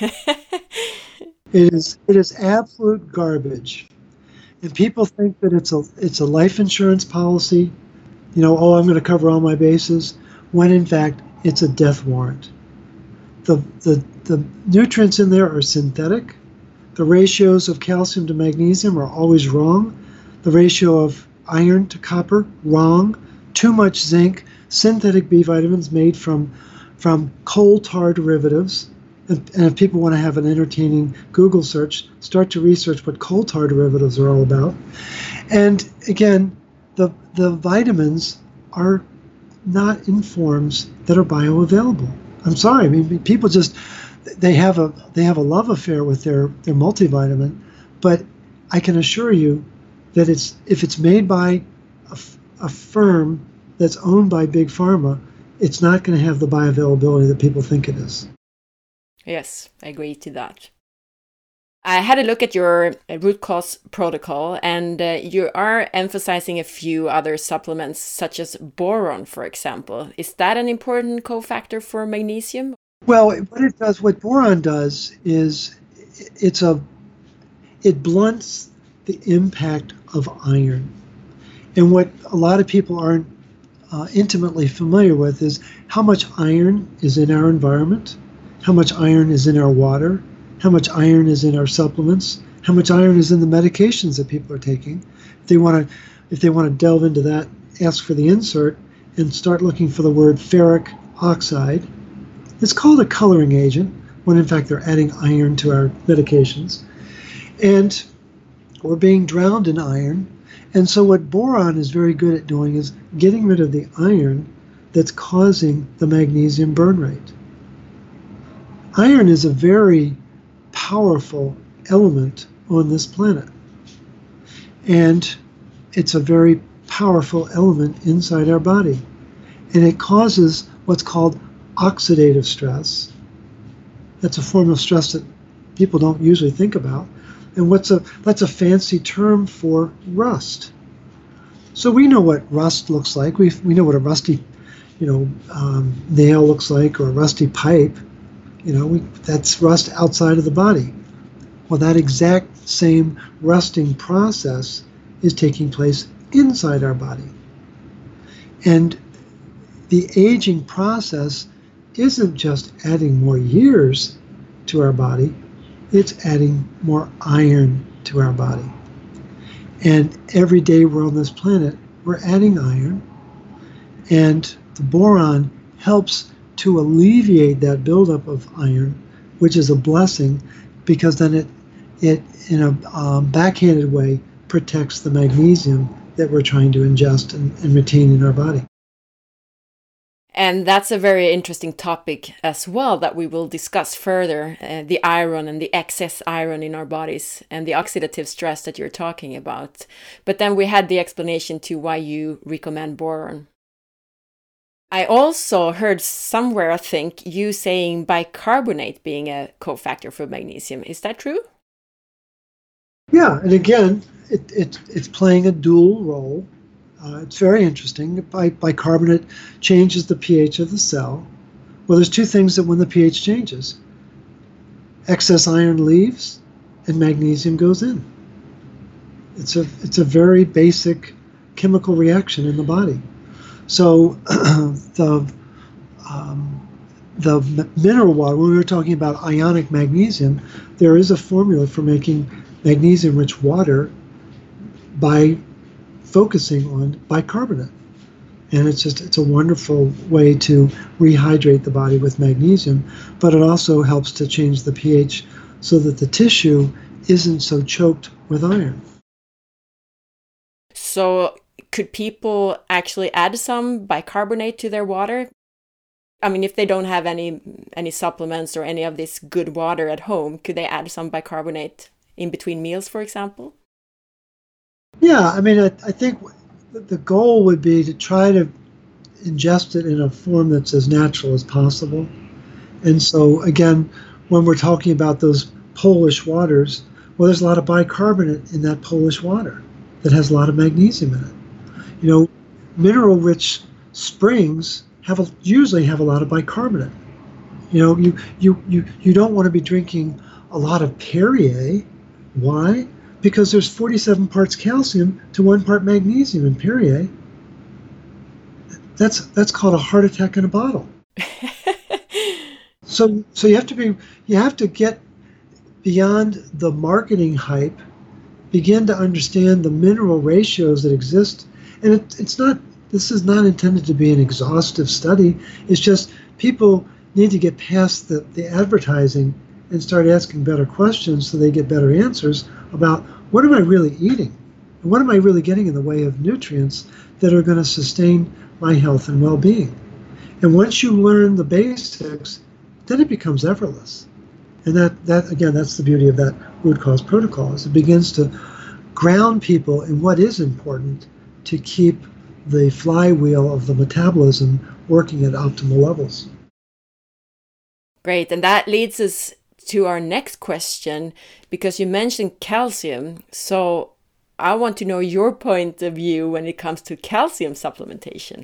It is it is absolute garbage. And people think that it's a it's a life insurance policy, you know, oh, I'm going to cover all my bases, when in fact it's a death warrant. The the the nutrients in there are synthetic. The ratios of calcium to magnesium are always wrong. The ratio of iron to copper, wrong. Too much zinc. Synthetic B vitamins made from from coal tar derivatives. And, and if people want to have an entertaining Google search, start to research what coal tar derivatives are all about. And again, the the vitamins are not in forms that are bioavailable. I'm sorry. I mean, people just they have a they have a love affair with their their multivitamin, but I can assure you that it's if it's made by a, a firm that's owned by Big Pharma, it's not going to have the bioavailability that people think it is. Yes, I agree to that. I had a look at your root cause protocol, and uh, you are emphasizing a few other supplements, such as boron, for example. Is that an important cofactor for magnesium? Well, what it does, what boron does, is it's a it blunts the impact of iron. And what a lot of people aren't uh, intimately familiar with is how much iron is in our environment, how much iron is in our water, how much iron is in our supplements, how much iron is in the medications that people are taking. If they want to, if they want to delve into that, ask for the insert and start looking for the word ferric oxide. It's called a coloring agent when in fact they're adding iron to our medications. And we're being drowned in iron. And so what boron is very good at doing is getting rid of the iron that's causing the magnesium burn rate. Iron is a very powerful element on this planet. And it's a very powerful element inside our body. And it causes what's called oxidative stress. That's a form of stress that people don't usually think about. And what's a that's a fancy term for rust. So we know what rust looks like. We we know what a rusty, you know, um, nail looks like, or a rusty pipe. You know, we, that's rust outside of the body. Well, that exact same rusting process is taking place inside our body. And the aging process isn't just adding more years to our body, it's adding more iron to our body. And every day we're on this planet, we're adding iron, and the boron helps to alleviate that buildup of iron, which is a blessing, because then it, it in a um, backhanded way, protects the magnesium that we're trying to ingest and, and retain in our body. And that's a very interesting topic as well that we will discuss further, uh, the iron and the excess iron in our bodies and the oxidative stress that you're talking about. But then we had the explanation to why you recommend boron. I also heard somewhere, I think, you saying bicarbonate being a cofactor for magnesium. Is that true? Yeah, and again, it, it, it's playing a dual role. Uh, it's very interesting. Bi- bicarbonate changes the pH of the cell. Well, there's two things that when the pH changes. Excess iron leaves and magnesium goes in. It's a, it's a very basic chemical reaction in the body. So the, um, the mineral water, when we were talking about ionic magnesium, there is a formula for making magnesium-rich water by focusing on bicarbonate. And it's just, it's a wonderful way to rehydrate the body with magnesium, but it also helps to change the pH so that the tissue isn't so choked with iron. So could people actually add some bicarbonate to their water? I mean, if they don't have any any supplements or any of this good water at home, could they add some bicarbonate in between meals, for example? Yeah, I mean, I, I think the goal would be to try to ingest it in a form that's as natural as possible. And so, again, when we're talking about those Polish waters, well, there's a lot of bicarbonate in that Polish water that has a lot of magnesium in it. You know, mineral-rich springs have a, usually have a lot of bicarbonate. You know, you, you, you, you don't want to be drinking a lot of Perrier. Why? Because there's forty-seven parts calcium to one part magnesium in Perrier. That's that's called a heart attack in a bottle. so so you have to be you have to get beyond the marketing hype, begin to understand the mineral ratios that exist, and it, it's not. This is not intended to be an exhaustive study. It's just people need to get past the, the advertising and start asking better questions so they get better answers about what am I really eating? And what am I really getting in the way of nutrients that are going to sustain my health and well-being? And once you learn the basics, then it becomes effortless. And that, that again, that's the beauty of that root cause protocol, is it begins to ground people in what is important to keep the flywheel of the metabolism working at optimal levels. Great. And that leads us to our next question, because you mentioned calcium. So I want to know your point of view when it comes to calcium supplementation.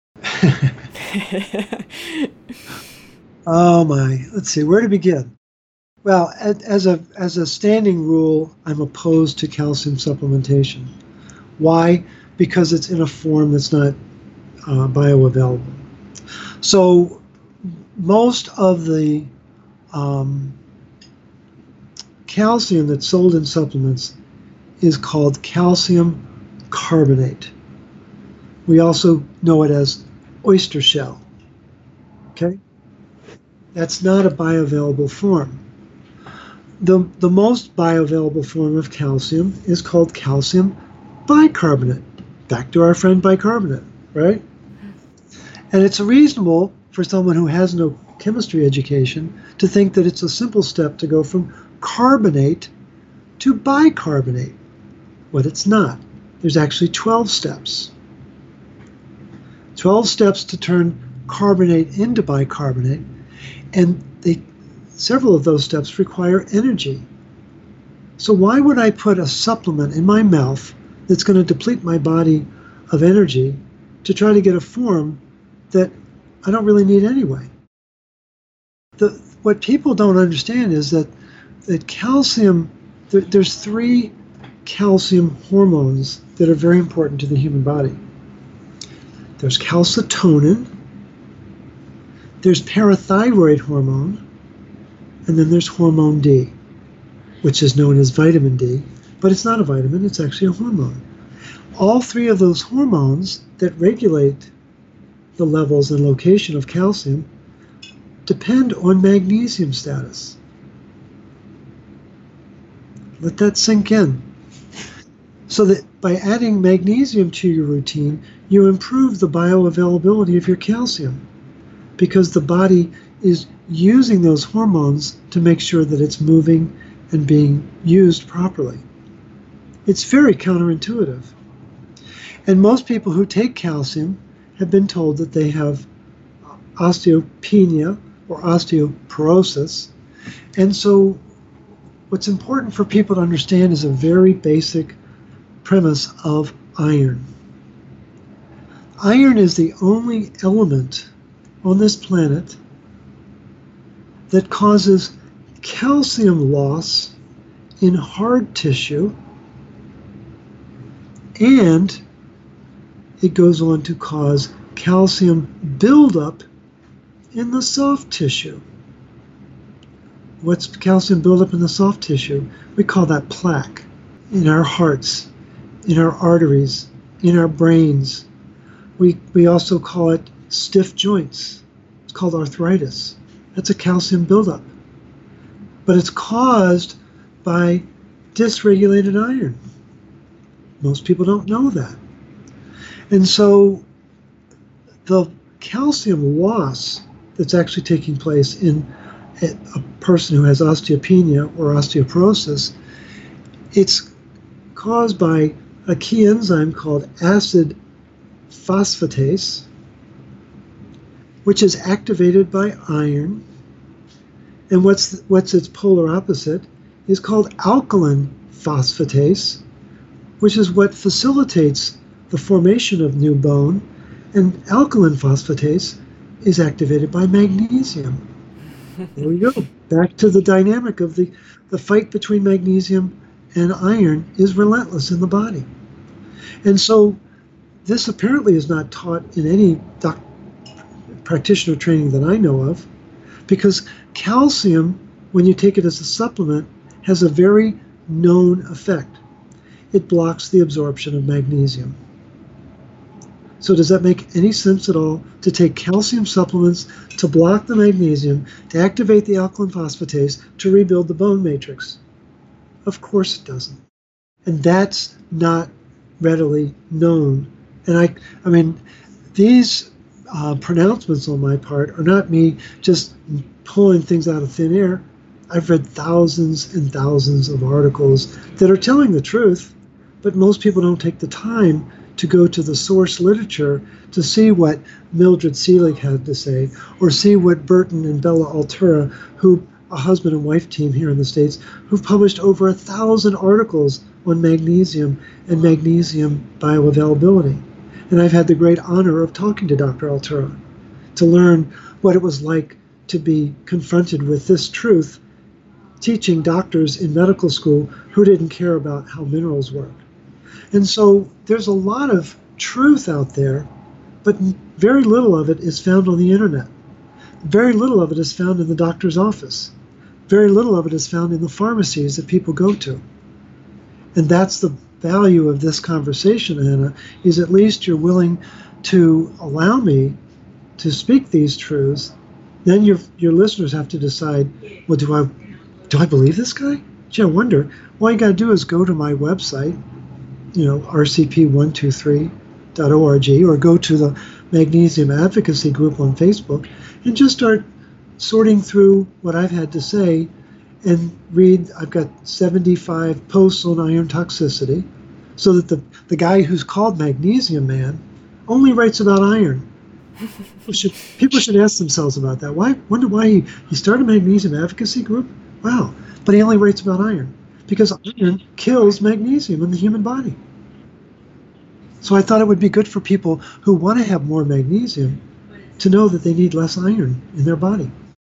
Oh my, let's see, where to begin? Well, as a as a standing rule, I'm opposed to calcium supplementation. Why? Because it's in a form that's not uh, bioavailable. So most of the um, calcium that's sold in supplements is called calcium carbonate. We also know it as oyster shell. Okay? That's not a bioavailable form. The, the most bioavailable form of calcium is called calcium bicarbonate. Back to our friend bicarbonate, right? And it's reasonable for someone who has no chemistry education to think that it's a simple step to go from carbonate to bicarbonate. But it's not. There's actually twelve steps. twelve steps to turn carbonate into bicarbonate, and they, several of those steps require energy. So why would I put a supplement in my mouth that's going to deplete my body of energy to try to get a form that I don't really need anyway? The, what people don't understand is that, that calcium, there, there's three calcium hormones that are very important to the human body. There's calcitonin, there's parathyroid hormone, and then there's hormone D, which is known as vitamin D, but it's not a vitamin, it's actually a hormone. All three of those hormones that regulate the levels and location of calcium depend on magnesium status. Let that sink in. So that by adding magnesium to your routine, you improve the bioavailability of your calcium, because the body is using those hormones to make sure that it's moving and being used properly. It's very counterintuitive. And most people who take calcium have been told that they have osteopenia or osteoporosis. And so what's important for people to understand is a very basic premise of iron. Iron is the only element on this planet that causes calcium loss in hard tissue, and it goes on to cause calcium buildup in the soft tissue. What's calcium buildup in the soft tissue? We call that plaque in our hearts, in our arteries, in our brains. We, we also call it stiff joints. It's called arthritis. That's a calcium buildup. But it's caused by dysregulated iron. Most people don't know that. And so the calcium loss that's actually taking place in a, a person who has osteopenia or osteoporosis, it's caused by a key enzyme called acid phosphatase, which is activated by iron. And what's what's its polar opposite is called alkaline phosphatase, which is what facilitates the formation of new bone. And alkaline phosphatase is activated by magnesium. There we go. Back to the dynamic of the, the fight between magnesium and iron is relentless in the body. And so this apparently is not taught in any doc, practitioner training that I know of, because calcium, when you take it as a supplement, has a very known effect. It blocks the absorption of magnesium. So does that make any sense at all to take calcium supplements to block the magnesium, to activate the alkaline phosphatase, to rebuild the bone matrix? Of course it doesn't. And that's not readily known. And I, I mean, these uh, pronouncements on my part are not me just pulling things out of thin air. I've read thousands and thousands of articles that are telling the truth, but most people don't take the time to go to the source literature to see what Mildred Seelig had to say, or see what Burton and Bella Altura, who a husband and wife team here in the States, who've published over a thousand articles on magnesium and magnesium bioavailability. And I've had the great honor of talking to Doctor Altura to learn what it was like to be confronted with this truth, teaching doctors in medical school who didn't care about how minerals work. And so there's a lot of truth out there, but very little of it is found on the internet. Very little of it is found in the doctor's office. Very little of it is found in the pharmacies that people go to. And that's the value of this conversation, Anna, is at least you're willing to allow me to speak these truths. Then your your listeners have to decide, well, do I do I believe this guy? Gee, I wonder. All you got to do is go to my website, you know, R C P one two three dot org, or go to the Magnesium Advocacy Group on Facebook and just start sorting through what I've had to say and read. I've got seventy-five posts on iron toxicity, so that the, the guy who's called Magnesium Man only writes about iron. People should, people should ask themselves about that. Why? Wonder why he, he started a Magnesium Advocacy Group? Wow. But he only writes about iron, because iron kills magnesium in the human body. So I thought it would be good for people who want to have more magnesium to know that they need less iron in their body.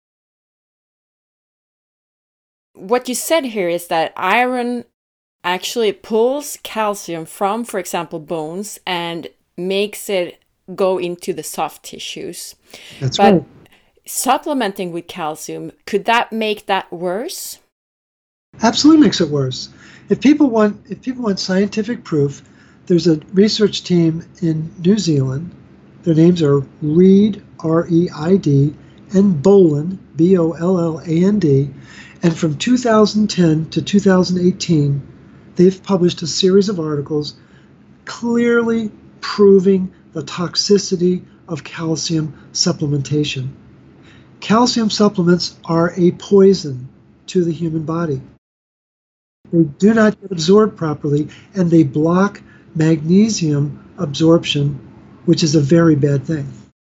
What you said here is that iron actually pulls calcium from, for example, bones and makes it go into the soft tissues. That's but right. Supplementing with calcium, could that make that worse? Absolutely makes it worse. If people want, if people want scientific proof, there's a research team in New Zealand. Their names are Reid, R E I D, and Bolland, B O L L A N D. And from two thousand ten to two thousand eighteen, they've published a series of articles clearly proving the toxicity of calcium supplementation. Calcium supplements are a poison to the human body. They do not get absorbed properly, and they block magnesium absorption, which is a very bad thing.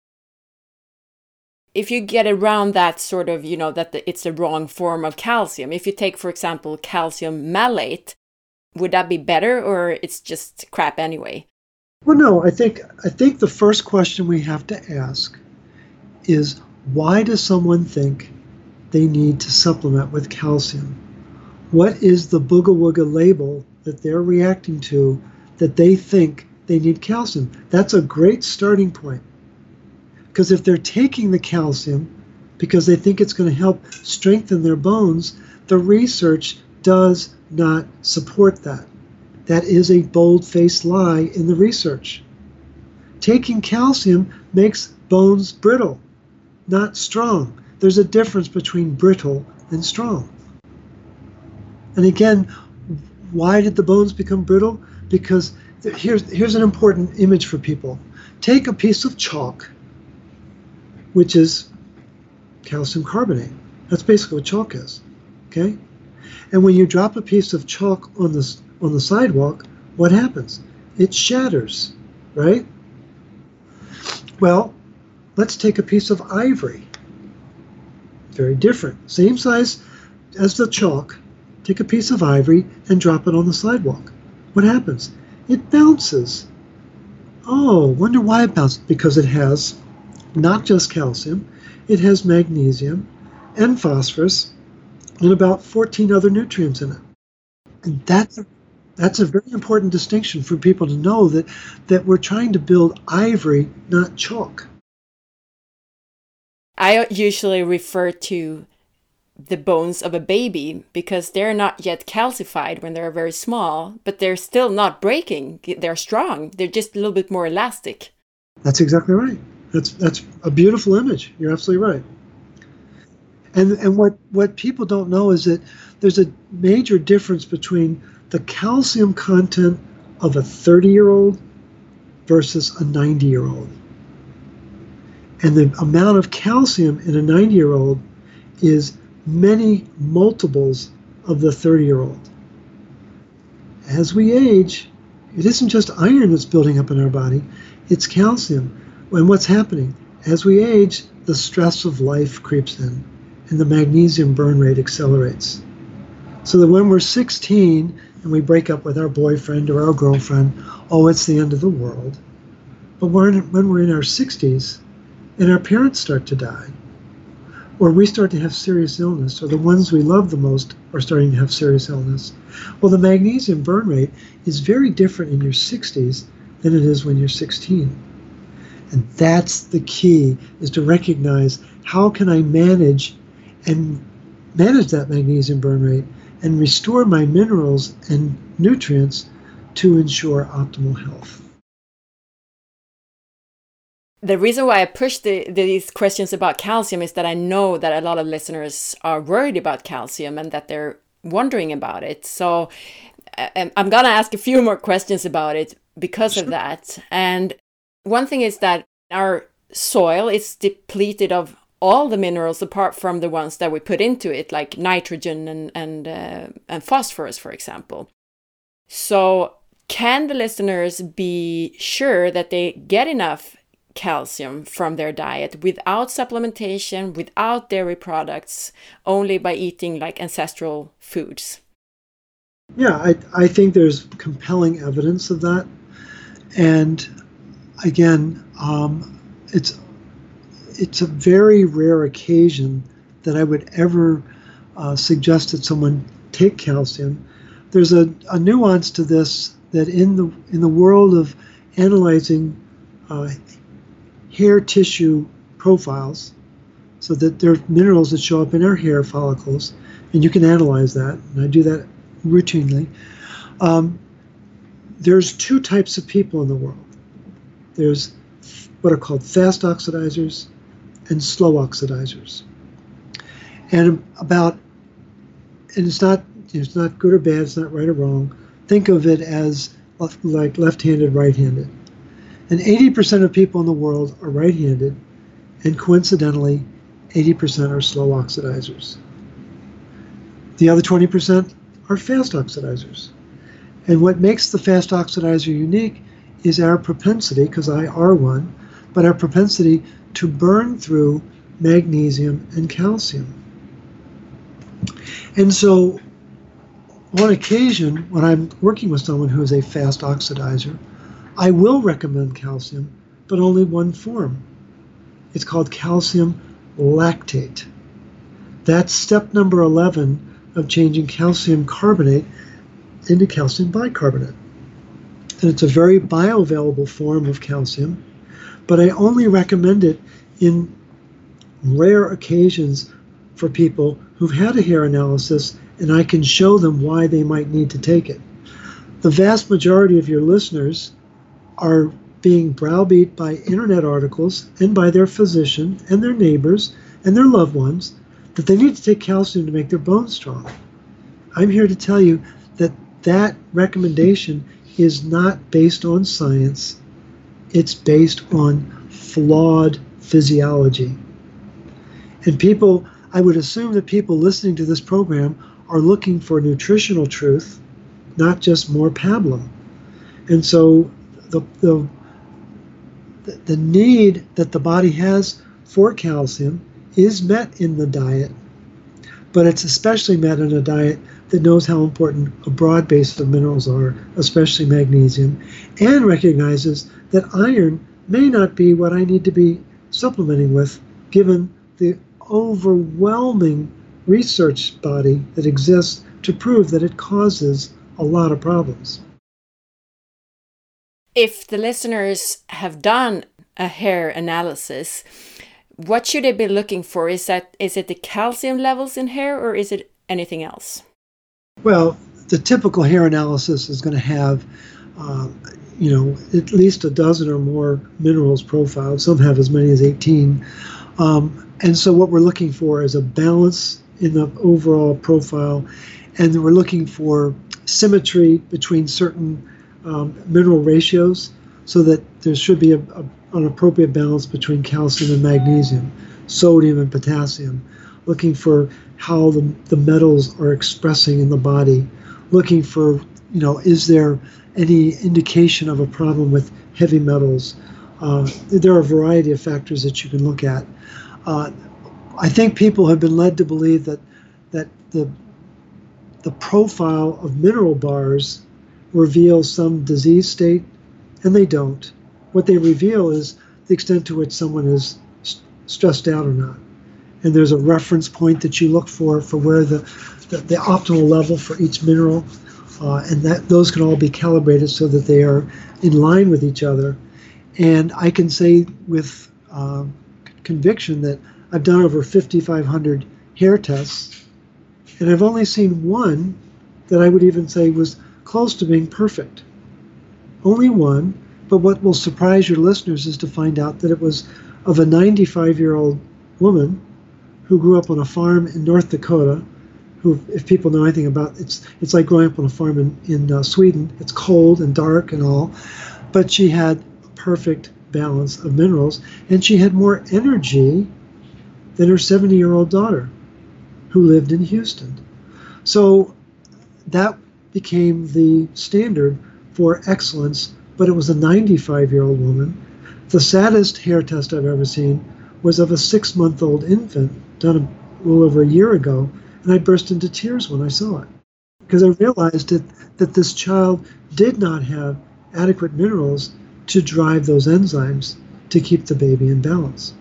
If you get around that sort of, you know, that the, it's the wrong form of calcium, if you take, for example, calcium malate, would that be better, or it's just crap anyway? Well, no, I think I think the first question we have to ask is, why does someone think they need to supplement with calcium? What is the booga wooga label that they're reacting to that they think they need calcium? That's a great starting point. Because if they're taking the calcium because they think it's going to help strengthen their bones, the research does not support that. That is a bold-faced lie in the research. Taking calcium makes bones brittle, not strong. There's a difference between brittle and strong. And again, why did the bones become brittle? Because here's, here's an important image for people. Take a piece of chalk, which is calcium carbonate. That's basically what chalk is, okay? And when you drop a piece of chalk on the, on the sidewalk, what happens? It shatters, right? Well, let's take a piece of ivory. Very different. Same size as the chalk. Take a piece of ivory and drop it on the sidewalk. What happens? It bounces. Oh, wonder why it bounces? Because it has not just calcium, it has magnesium and phosphorus and about fourteen other nutrients in it. And that's a, that's a very important distinction for people to know, that, that we're trying to build ivory, not chalk. I usually refer to the bones of a baby because they're not yet calcified when they're very small, but they're still not breaking. They're strong. They're just a little bit more elastic. That's exactly right. That's that's a beautiful image. You're absolutely right. And and what, what people don't know is that there's a major difference between the calcium content of a thirty-year-old versus a ninety-year-old. And the amount of calcium in a ninety-year-old is many multiples of the thirty-year-old. As we age, it isn't just iron that's building up in our body, it's calcium. And what's happening? As we age, the stress of life creeps in, and the magnesium burn rate accelerates. So that when we're sixteen and we break up with our boyfriend or our girlfriend, oh, it's the end of the world. But when, when we're in our sixties and our parents start to die, or we start to have serious illness, or the ones we love the most are starting to have serious illness, well, the magnesium burn rate is very different in your sixties than it is when you're sixteen. And that's the key, is to recognize, how can I manage and manage that magnesium burn rate and restore my minerals and nutrients to ensure optimal health. The reason why I push the, these questions about calcium is that I know that a lot of listeners are worried about calcium and that they're wondering about it. So I'm going to ask a few more questions about it because sure. of that. And one thing is that our soil is depleted of all the minerals apart from the ones that we put into it, like nitrogen and and uh, and phosphorus, for example. So can the listeners be sure that they get enough calcium from their diet without supplementation, without dairy products, only by eating like ancestral foods? Yeah, I, I think there's compelling evidence of that. And again, um, it's it's a very rare occasion that I would ever uh, suggest that someone take calcium. There's a, a nuance to this, that in the in the world of analyzing uh, hair tissue profiles, so that there are minerals that show up in our hair follicles, and you can analyze that, and I do that routinely. Um, there's two types of people in the world. There's what are called fast oxidizers and slow oxidizers. And about, and it's not, it's not good or bad, it's not right or wrong, think of it as left, like left-handed, right-handed. And eighty percent of people in the world are right-handed, and coincidentally, eighty percent are slow oxidizers. The other twenty percent are fast oxidizers. And what makes the fast oxidizer unique is our propensity, because I are one, but our propensity to burn through magnesium and calcium. And so on occasion, when I'm working with someone who is a fast oxidizer, I will recommend calcium, but only one form. It's called calcium lactate. That's step number eleven of changing calcium carbonate into calcium bicarbonate. And it's a very bioavailable form of calcium, but I only recommend it in rare occasions for people who've had a hair analysis, and I can show them why they might need to take it. The vast majority of your listeners are being browbeat by internet articles and by their physician and their neighbors and their loved ones that they need to take calcium to make their bones strong. I'm here to tell you that that recommendation is not based on science. It's based on flawed physiology. And people, I would assume that people listening to this program are looking for nutritional truth, not just more pablum. And so the, the, the need that the body has for calcium is met in the diet, but it's especially met in a diet that knows how important a broad base of minerals are, especially magnesium, and recognizes that iron may not be what I need to be supplementing with, given the overwhelming research body that exists to prove that it causes a lot of problems. If the listeners have done a hair analysis, what should they be looking for? Is that is it the calcium levels in hair, or is it anything else? Well, the typical hair analysis is going to have, um, you know, at least a dozen or more minerals profiled. Some have as many as eighteen. Um, and so what we're looking for is a balance in the overall profile, and we're looking for symmetry between certain um, mineral ratios, so that there should be a, a, an appropriate balance between calcium and magnesium, sodium and potassium, looking for how the, the metals are expressing in the body, looking for, you know, is there any indication of a problem with heavy metals? Uh, there are a variety of factors that you can look at. Uh, I think people have been led to believe that that the the profile of mineral bars reveals some disease state, and they don't. What they reveal is the extent to which someone is st- stressed out or not. And there's a reference point that you look for for where the, the, the optimal level for each mineral, uh, and that those can all be calibrated so that they are in line with each other. And I can say with uh, conviction that I've done over fifty-five hundred hair tests, and I've only seen one that I would even say was close to being perfect. Only one, but what will surprise your listeners is to find out that it was of a ninety-five-year-old woman who grew up on a farm in North Dakota, who, if people know anything about, it's it's like growing up on a farm in, in uh, Sweden. It's cold and dark and all, but she had a perfect balance of minerals, and she had more energy than her seventy-year-old daughter, who lived in Houston. So that became the standard for excellence, but it was a ninety-five-year-old woman. The saddest hair test I've ever seen was of a six-month-old infant done a little over a year ago, and I burst into tears when I saw it, because I realized that, that this child did not have adequate minerals to drive those enzymes to keep the baby in balance.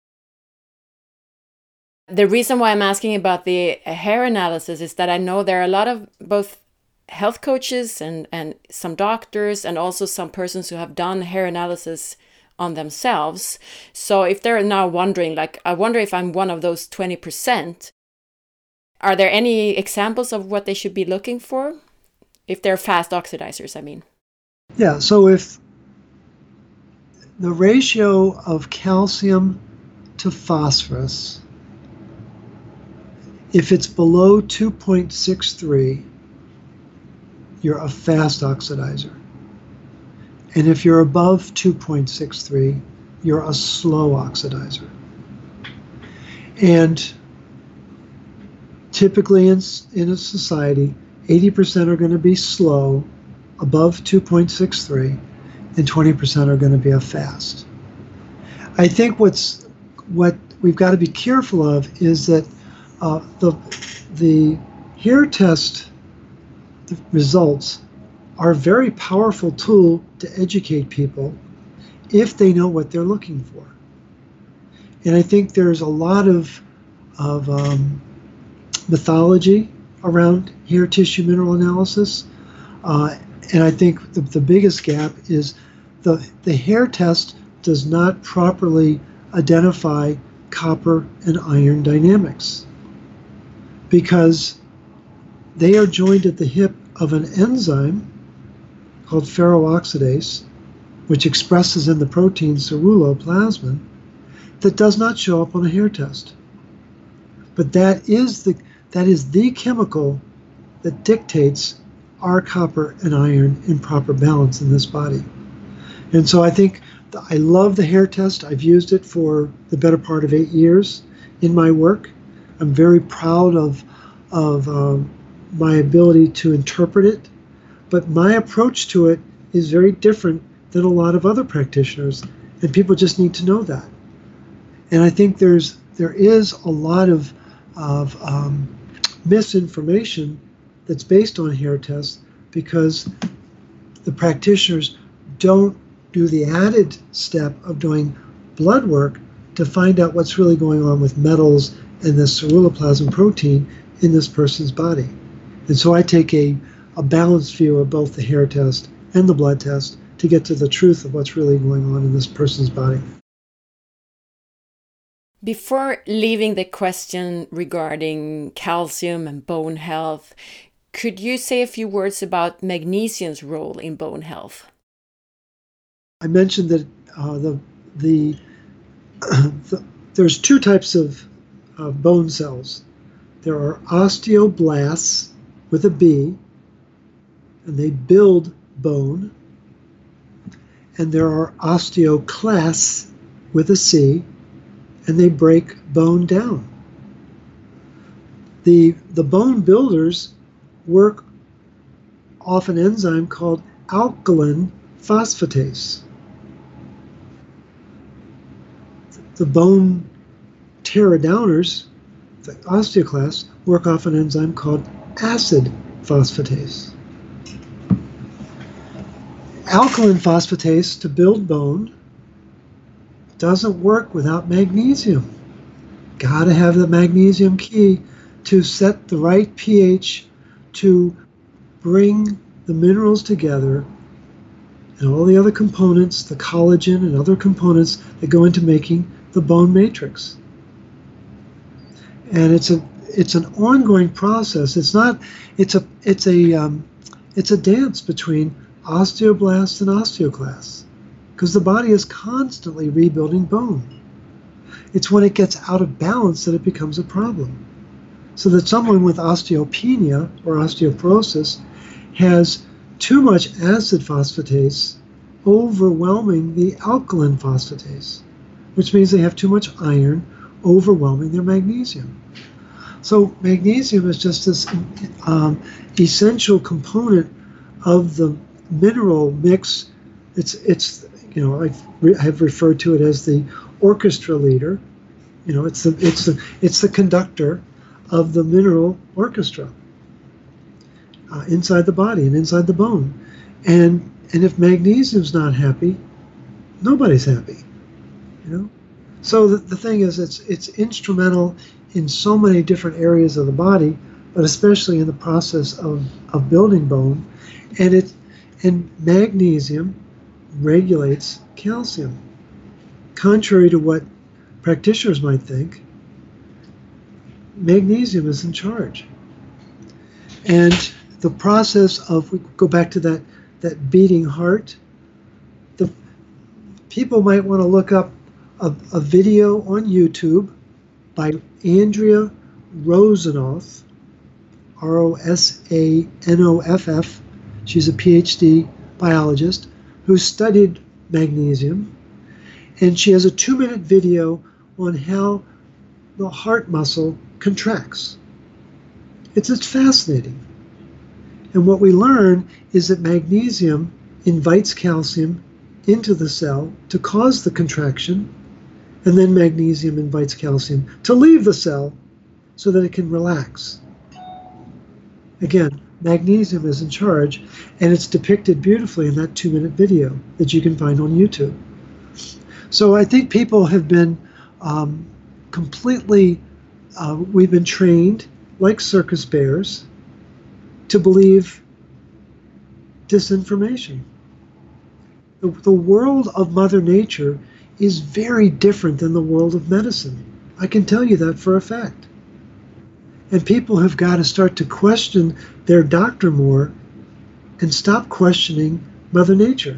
The reason why I'm asking about the hair analysis is that I know there are a lot of both health coaches and, and some doctors and also some persons who have done hair analysis on themselves. So if they're now wondering, like, I wonder if I'm one of those twenty percent, are there any examples of what they should be looking for? If they're fast oxidizers, I mean. Yeah, so if the ratio of calcium to phosphorus, if it's below two point six three, you're a fast oxidizer. And if you're above two point six three, you're a slow oxidizer. And typically in, in a society, eighty percent are going to be slow, above two point six three, and twenty percent are going to be a fast. I think what's what we've got to be careful of is that uh, the the hair test results are a very powerful tool to educate people if they know what they're looking for. And I think there's a lot of of um, mythology around hair tissue mineral analysis, uh, and I think the, the biggest gap is the the hair test does not properly identify copper and iron dynamics, because they are joined at the hip of an enzyme called ferrooxidase, which expresses in the protein ceruloplasmin, that does not show up on a hair test. But that is the that is the chemical that dictates our copper and iron in proper balance in this body. And so I think the, I love the hair test. I've used it for the better part of eight years in my work. I'm very proud of of um, my ability to interpret it, but my approach to it is very different than a lot of other practitioners, and people just need to know that. And I think there's there is a lot of of um, misinformation that's based on hair tests because the practitioners don't do the added step of doing blood work to find out what's really going on with metals and the ceruloplasmin protein in this person's body. And so I take a, a balanced view of both the hair test and the blood test to get to the truth of what's really going on in this person's body. Before leaving the question regarding calcium and bone health, could you say a few words about magnesium's role in bone health? I mentioned that uh, the, the, the there's two types of uh, bone cells. There are osteoblasts with a B, and they build bone. And there are osteoclasts with a C, and they break bone down. The, the bone builders work off an enzyme called alkaline phosphatase. The bone tear downers, the osteoclasts, work off an enzyme called acid phosphatase. Alkaline phosphatase to build bone doesn't work without magnesium. Gotta have the magnesium key to set the right pH to bring the minerals together and all the other components, the collagen and other components that go into making the bone matrix. And it's a it's an ongoing process. It's not it's a it's a um, it's a dance between osteoblasts and osteoclasts, because the body is constantly rebuilding bone. It's when it gets out of balance that it becomes a problem. So that someone with osteopenia or osteoporosis has too much acid phosphatase overwhelming the alkaline phosphatase, which means they have too much iron overwhelming their magnesium. So magnesium is just this um, essential component of the mineral mix. It's it's you know I've re- I've referred to it as the orchestra leader. You know, it's the it's the it's the conductor of the mineral orchestra uh, inside the body and inside the bone. And and if magnesium's not happy, nobody's happy. You know. So the, the thing is, it's it's instrumental in so many different areas of the body, but especially in the process of, of building bone. And it and magnesium regulates calcium. Contrary to what practitioners might think, magnesium is in charge. And the process of, we go back to that, that beating heart, the people might want to look up a, a video on YouTube by Andrea Rosanoff, R O S A N O F F, She's a PhD biologist who studied magnesium, and she has a two-minute video on how the heart muscle contracts. It's, it's fascinating. And what we learn is that magnesium invites calcium into the cell to cause the contraction, and then magnesium invites calcium to leave the cell so that it can relax. Again, magnesium is in charge, and it's depicted beautifully in that two-minute video that you can find on YouTube. So I think people have been um, completely, uh, we've been trained, like circus bears, to believe disinformation. The, the world of Mother Nature is very different than the world of medicine. I can tell you that for a fact. And people have got to start to question their doctor more and stop questioning Mother Nature.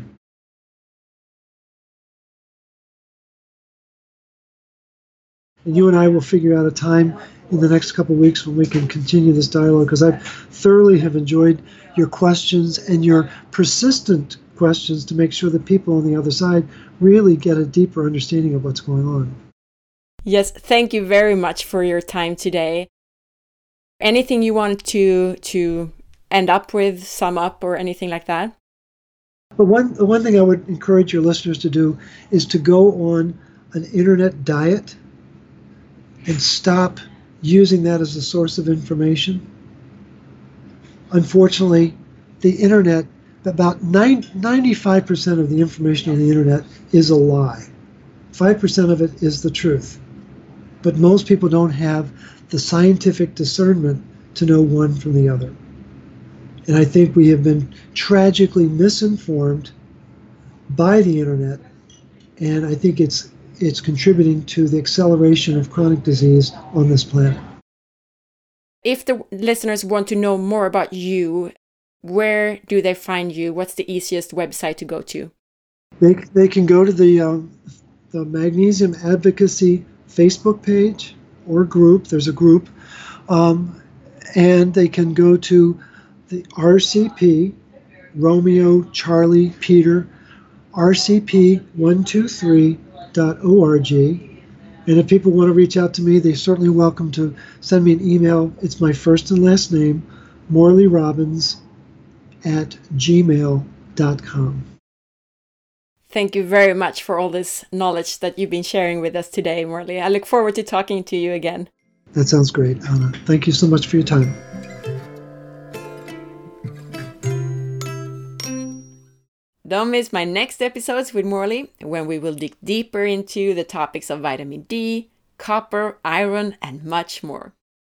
And you and I will figure out a time in the next couple of weeks when we can continue this dialogue, because I thoroughly have enjoyed your questions and your persistent questions to make sure that people on the other side really get a deeper understanding of what's going on. Yes, thank you very much for your time today. Anything you want to to end up with, sum up, or anything like that? But one, the one thing I would encourage your listeners to do is to go on an internet diet and stop using that as a source of information. Unfortunately, the internet, about ninety-five percent of the information on the internet is a lie. five percent of it is the truth. But most people don't have the scientific discernment to know one from the other. And I think we have been tragically misinformed by the internet, and I think it's it's contributing to the acceleration of chronic disease on this planet. If the listeners want to know more about you, where do they find you? What's the easiest website to go to? They they can go to the um, the Magnesium Advocacy Facebook page or group. There's a group, um, and they can go to the R C P, Romeo Charlie Peter, R C P one two three dot org. And if people want to reach out to me, they're certainly welcome to send me an email. It's my first and last name, Morley Robbins at gmail dot com. Thank you very much for all this knowledge that you've been sharing with us today, Morley. I look forward to talking to you again. That sounds great, Anna. Thank you so much for your time. Don't miss my next episodes with Morley, when we will dig deeper into the topics of vitamin D, copper, iron, and much more.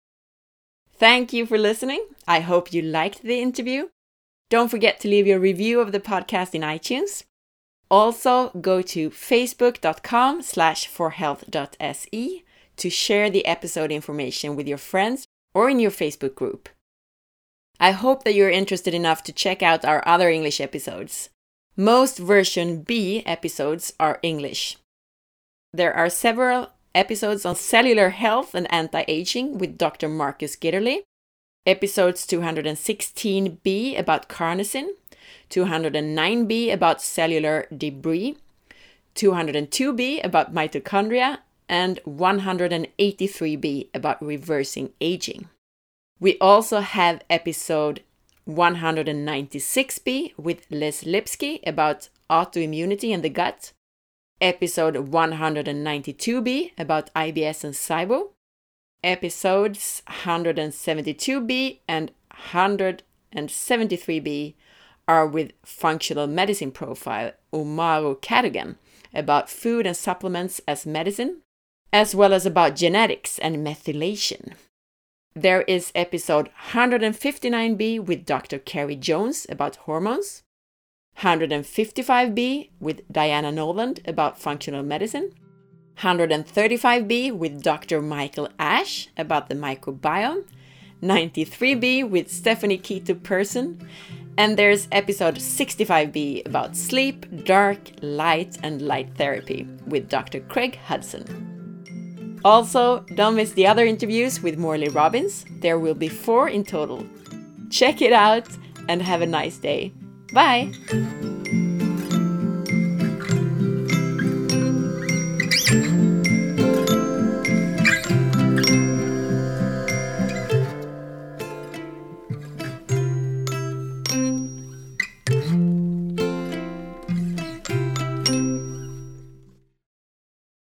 Thank you for listening. I hope you liked the interview. Don't forget to leave your review of the podcast in iTunes. Also, go to facebook.com slash forhealth.se to share the episode information with your friends or in your Facebook group. I hope that you're interested enough to check out our other English episodes. Most version B episodes are English. There are several episodes on cellular health and anti-aging with Doctor Marcus Gitterly, episodes two hundred sixteen B about carnosine, two hundred nine B about cellular debris, two hundred two B about mitochondria, and one hundred eighty-three B about reversing aging. We also have episode one hundred ninety-six B with Les Lipsky about autoimmunity in the gut, episode one hundred ninety-two B about I B S and SIBO, episodes one hundred seventy-two B and one hundred seventy-three B are with functional medicine profile Umaru Cadogan about food and supplements as medicine, as well as about genetics and methylation. There is episode one hundred fifty-nine B with Doctor Carrie Jones about hormones, one hundred fifty-five B with Diana Noland about functional medicine, one hundred thirty-five B with Doctor Michael Ash about the microbiome, ninety-three B with Stephanie Keto Person, and there's episode sixty-five B about sleep, dark, light, and light therapy with Doctor Craig Hudson. Also, don't miss the other interviews with Morley Robbins. There will be four in total. Check it out and have a nice day. Bye!